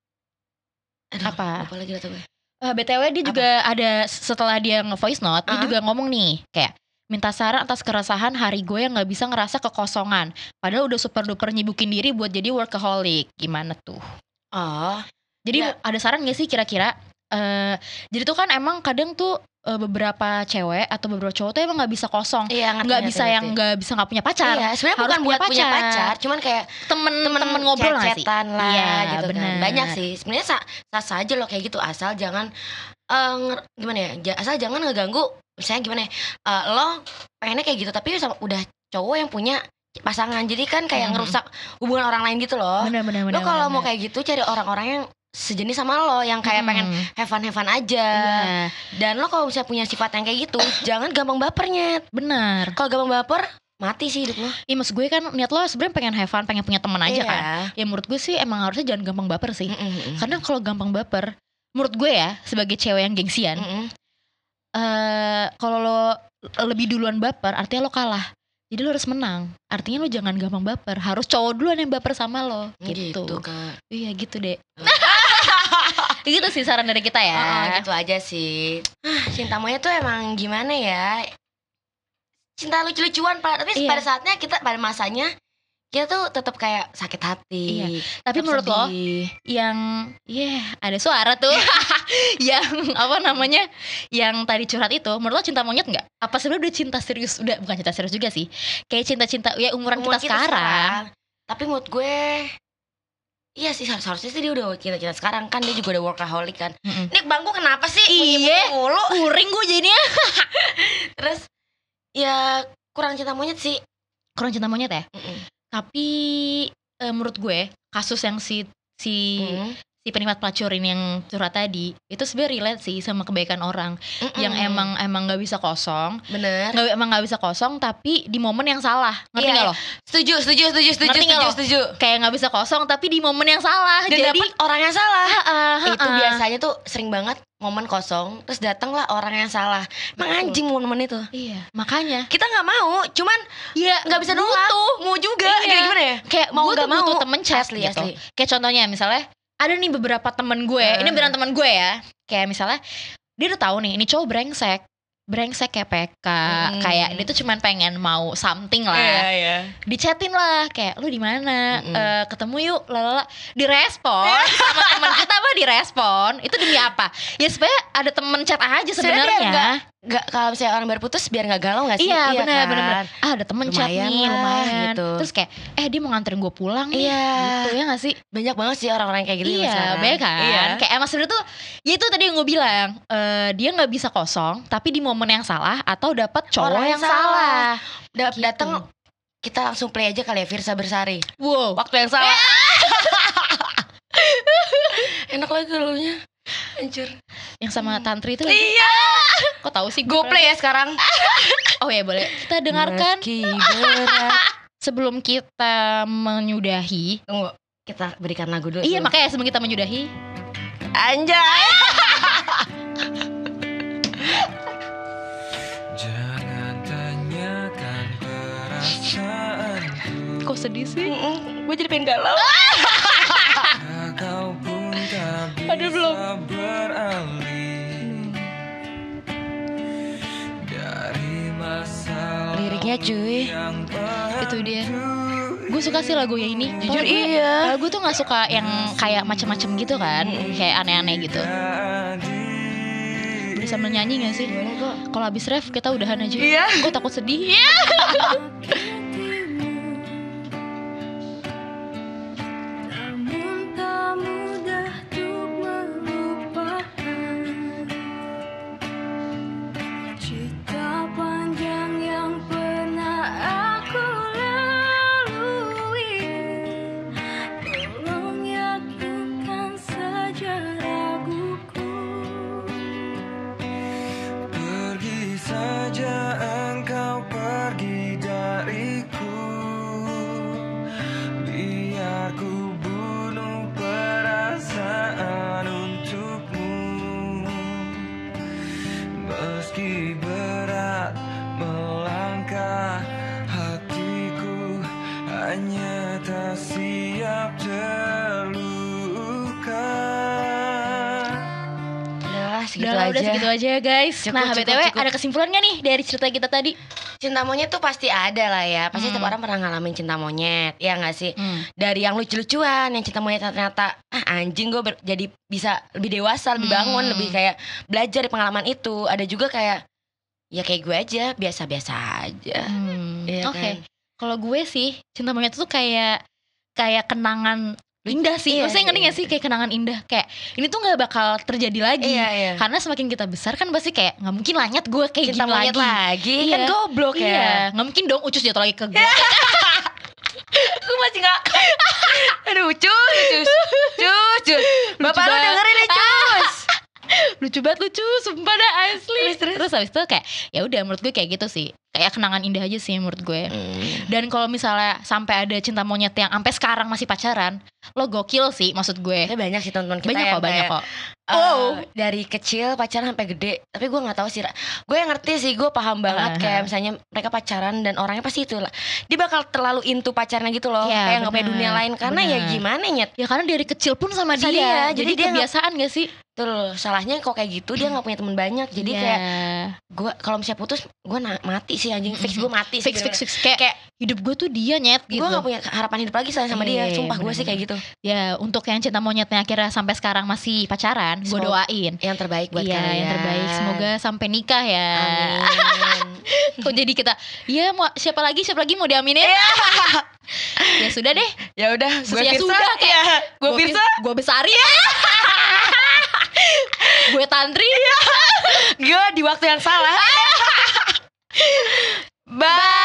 C: Aduh,
B: Apa?
C: Apa lagi kata gue?
B: Eh, B T W dia
C: Apa?
B: juga ada setelah dia nge-voice note, dia
C: Uh-uh.
B: juga ngomong nih kayak minta saran atas keresahan hari gue yang nggak bisa ngerasa kekosongan. Padahal udah super duper nyibukin diri buat jadi workaholic. Gimana tuh?
C: Oh,
B: Jadi
C: Ya.
B: ada saran gak sih kira-kira? Eh, jadi tuh kan emang kadang tuh eh, beberapa cewek atau beberapa cowok tuh emang nggak bisa kosong,
C: iya ngerti.
B: nggak
C: ngerti,
B: bisa yang
C: ngerti.
B: nggak bisa nggak punya pacar.
C: Iya, sebenarnya
B: Harus
C: bukan
B: punya
C: buat punya
B: pacar.
C: pacar, cuman kayak
B: Temen
C: temen
B: temen ngobrol nggak sih?
C: cecetan lah
B: Iya,
C: gitu
B: bener.
C: kan. Banyak sih. Sebenarnya sah sah aja loh kayak gitu, asal jangan eh, nger- gimana ya? ja- Asal jangan ngeganggu. Misalnya gimana ya? eh, lo pengennya kayak gitu tapi sama, udah cowok yang punya pasangan. Jadi kan kayak
B: Hmm.
C: ngerusak hubungan orang lain gitu loh.
B: Bener-bener.
C: Lo kalau mau kayak gitu cari orang-orang yang sejenis sama lo, yang kayak pengen have fun have fun aja.
B: Iya,
C: Dan lo kalau misalnya punya sifat yang kayak gitu, jangan gampang bapernya.
B: bener.
C: Kalau gampang baper, mati sih hidup lo.
B: Iya, maksud gue kan niat lo sebenarnya pengen have fun, pengen punya teman aja
C: Iya.
B: kan. Ya menurut gue sih emang harusnya jangan gampang baper sih.
C: Mm-mm, mm-mm.
B: Karena kalau gampang baper, menurut gue ya sebagai cewek yang gengsian,
C: Mm-mm.
B: eh kalau lo lebih duluan baper, artinya lo kalah. Jadi lo harus menang. Artinya lo jangan gampang baper. Harus cowok duluan yang baper sama lo. Gitu.
C: Gitu, Kak.
B: Iya gitu deh. Gitu sih saran dari kita ya.
C: Oh, gitu aja sih. Ah, cinta monyet tuh emang gimana ya? Cinta lucu-lucuan, Pak. Tapi
B: Iya.
C: pada saatnya kita pada masanya kita tuh tetap kayak sakit hati.
B: Iya. Tapi
C: tetap
B: menurut lo
C: sedih.
B: yang yeah, ada suara tuh yang apa namanya yang tadi curhat itu, menurut lo cinta monyet nggak? Apa sebenarnya udah cinta serius? Udah bukan cinta serius juga sih, kayak cinta-cinta ya umuran
C: Umuran
B: kita, sekarang.
C: Tapi menurut gue iya sih, harus- harusnya sih dia udah kita-kita sekarang kan, dia juga udah workaholic kan.
B: Mm-mm.
C: Nih bangku kenapa sih?
B: Iya.
C: Bunyi mulu.
B: Kuring gue jadinya.
C: Terus ya kurang cinta monyet sih.
B: Kurang cinta monyet ya.
C: Mm-mm.
B: Tapi eh, menurut gue kasus yang si si
C: Hmm.
B: si penikmat pelacur ini yang curhat tadi itu sebenarnya relate sih sama kebaikan orang
C: Mm-mm.
B: yang emang emang nggak bisa kosong,
C: bener.
B: nggak emang nggak bisa kosong tapi di momen yang salah, ngerti
C: Iya,
B: nggak
C: iya.
B: lo?
C: Setuju, setuju, setuju, setuju,
B: Ngerti nggak
C: setuju,
B: lo?
C: setuju.
B: Kayak nggak bisa kosong tapi di momen yang salah.
C: Dan
B: Jadi
C: dapet orang yang salah.
B: Ah, ah,
C: Itu
B: ah.
C: biasanya tuh sering banget momen kosong, terus datanglah orang yang salah. Emang
B: Betul.
C: anjing momen itu.
B: Iya, makanya.
C: Kita nggak mau, cuman
B: Iya,
C: nggak bisa nolak. Mau juga,
B: Iya.
C: kayak gimana ya?
B: Kayak
C: Mau
B: gue
C: nggak
B: tuh butuh
C: mau.
B: temen chat
C: Asli,
B: gitu.
C: asli.
B: Kayak contohnya misalnya ada nih beberapa temen gue,
C: Uh.
B: ini beneran temen gue ya. Kayak misalnya dia udah tahu nih, ini cowok brengsek, brengsek kayak P K,
C: Hmm.
B: kayak dia tuh cuman pengen mau something lah.
C: iya.
B: Dichatin lah, kayak lu di mana?
C: Mm-mm.
B: Eh, ketemu yuk, lalala. Direspon sama teman kita mah direspon. Itu demi apa? Ya supaya ada temen chat aja
C: Sebenarnya
B: sebenarnya.
C: nggak- Nggak, kalau misalnya orang baru putus biar nggak galau nggak sih?
B: Iya, benar
C: kan?
B: benar benar. Ah, ada temen chat
C: Lumayan
B: nih,
C: lah,
B: lumayan.
C: gitu.
B: Terus kayak eh dia mau nganterin gue pulang nih.
C: Iya.
B: Gitu ya gak sih?
C: Banyak banget sih orang-orang kayak gitu
B: Iya,
C: sekarang.
B: banyak kan.
C: Iya.
B: Kayak emang sebenarnya tuh, ya itu tadi yang gue bilang, eh, dia nggak bisa kosong, tapi di momen yang salah atau dapat cowok
C: Orang
B: yang
C: yang
B: salah.
C: Da-
B: Gitu.
C: Datang kita langsung play aja kali ya Firsa Bersari.
B: Wow.
C: Waktu yang salah. Enak lagi lagunya. Anjir.
B: Yang sama Tantri itu lagi.
C: Iya.
B: Kok tahu sih?
C: Go
B: gue
C: play ya sekarang.
B: Oh ya boleh. Kita dengarkan
C: Meski berat.
B: sebelum kita menyudahi.
C: Tunggu, kita berikan lagu dulu.
B: Iya
C: sebelum-
B: makanya sebelum kita menyudahi.
C: Anjay.
E: Jangan tanyakan perasaanku.
B: Kok sedih sih?
C: Gue jadi pengen galau.
E: Kau pun tak bisa
B: Aduh, belum.
E: beralih dari masalah
C: Liriknya cuy.
E: yang
B: Itu dia. Gue suka sih lagunya ini. Jujur
C: Padahal gue-
B: iya. Kalau gue tuh nggak suka yang kayak macem-macem gitu kan, kayak aneh-aneh gitu. Boleh sambil nyanyi gak sih?
C: Boleh kok.
B: Kalau habis ref kita udahan aja.
C: Iya.
B: Gue takut sedih. Iya.
F: Namun tak mudah untuk melupakan cerita panjang yang pernah aku lalui. Tolong yakinkan saja raguku.
E: Pergi saja engkau, pergi dariku. Biar ku bunuh perasaan untukmu. Meski berat melangkah, hatiku hanya tak siap terluka.
C: Udahlah segitu
B: Udah,
C: aja.
B: udah segitu aja ya guys.
C: Cukup,
B: nah
C: cukup,
B: B T W
C: cukup.
B: ada kesimpulan gak nih dari cerita kita tadi?
C: Cinta monyet tuh pasti ada lah ya. Pasti
B: Hmm.
C: setiap orang pernah ngalamin cinta monyet. Ya gak sih?
B: Hmm.
C: Dari yang lucu-lucuan, yang cinta monyet ternyata ah anjing gue ber- jadi bisa lebih dewasa, lebih bangun,
B: Hmm.
C: lebih kayak belajar dari pengalaman itu. Ada juga kayak ya kayak gue aja, biasa-biasa aja.
B: Hmm.
C: Iya
B: Oke.
C: kan?
B: Kalau gue sih cinta monyet itu kayak kayak kenangan indah sih.
C: Iya,
B: Maksudnya ngerti
C: iya.
B: gak sih kayak kenangan indah. Kayak ini tuh nggak bakal terjadi lagi.
C: Iya, iya.
B: Karena semakin kita besar kan pasti kayak nggak mungkin lah nyet gue kayak
C: Cinta
B: gini
C: monyet
B: lagi.
C: lagi,
B: Iya.
C: kan goblok
B: Iya,
C: ya.
B: nggak mungkin dong Ucus jatuh lagi ke gue.
C: Gue masih gak Aduh cus, cus, cus, cus. Bapak lu
B: banget.
C: dengerin nih cus.
B: Lucu banget lucu, sumpah dah asli.
C: Terus, terus.
B: Terus habis itu kayak ya udah menurut gue kayak gitu sih. Kayak kenangan indah aja sih menurut gue.
C: Hmm.
B: Dan kalau misalnya sampai ada cinta monyet yang sampai sekarang masih pacaran, lo gokil sih maksud gue.
C: Tapi banyak sih teman-teman kita
B: Banyak
C: yang
B: kok, banyak
C: kayak,
B: kok.
C: eh,
B: Wow.
C: dari kecil pacaran sampai gede. Tapi gue nggak tahu sih. Ra. Gue yang ngerti sih, gue paham banget
B: Uh-huh.
C: kayak misalnya mereka pacaran dan orangnya pasti itu lah. Dia bakal terlalu into pacarnya gitu loh.
B: Iya,
C: kayak nggak punya
B: bener,
C: dunia lain karena ya
B: bener.
C: gimana nyet.
B: Ya karena dari kecil pun sama
C: Sama
B: dia,
C: dia,
B: jadi,
C: jadi dia nggak-
B: kebiasaan gak sih?
C: Tuh loh, salahnya kok kayak gitu dia nggak punya teman banyak. Jadi
B: Iya.
C: kayak gue kalau misalnya putus gue na- mati sih anjing. Fix gue mati sih.
B: fix fix
C: bener-bener.
B: fix kayak,
C: Kayak
B: hidup gue tuh dia nyet gitu.
C: gue gak punya harapan hidup lagi sama sama dia.
B: Iya,
C: Sumpah gue
B: bener-bener.
C: sih kayak gitu.
B: Ya untuk yang cinta monyetnya akhirnya sampai sekarang masih pacaran, gue
C: Semoga-
B: doain.
C: Yang terbaik buat
B: Iya
C: kalian.
B: yang terbaik, semoga sampai nikah ya.
C: Amin.
B: Kok jadi kita, ya mau siapa lagi siapa lagi mau diaminin? Ya sudah deh.
C: Ya udah, gue
B: Ya
C: Firsa.
B: sudah, kayak
C: Iya, gue Firsa.
B: gue Besari. Gue Tantri.
C: Gue di waktu yang salah. Bye.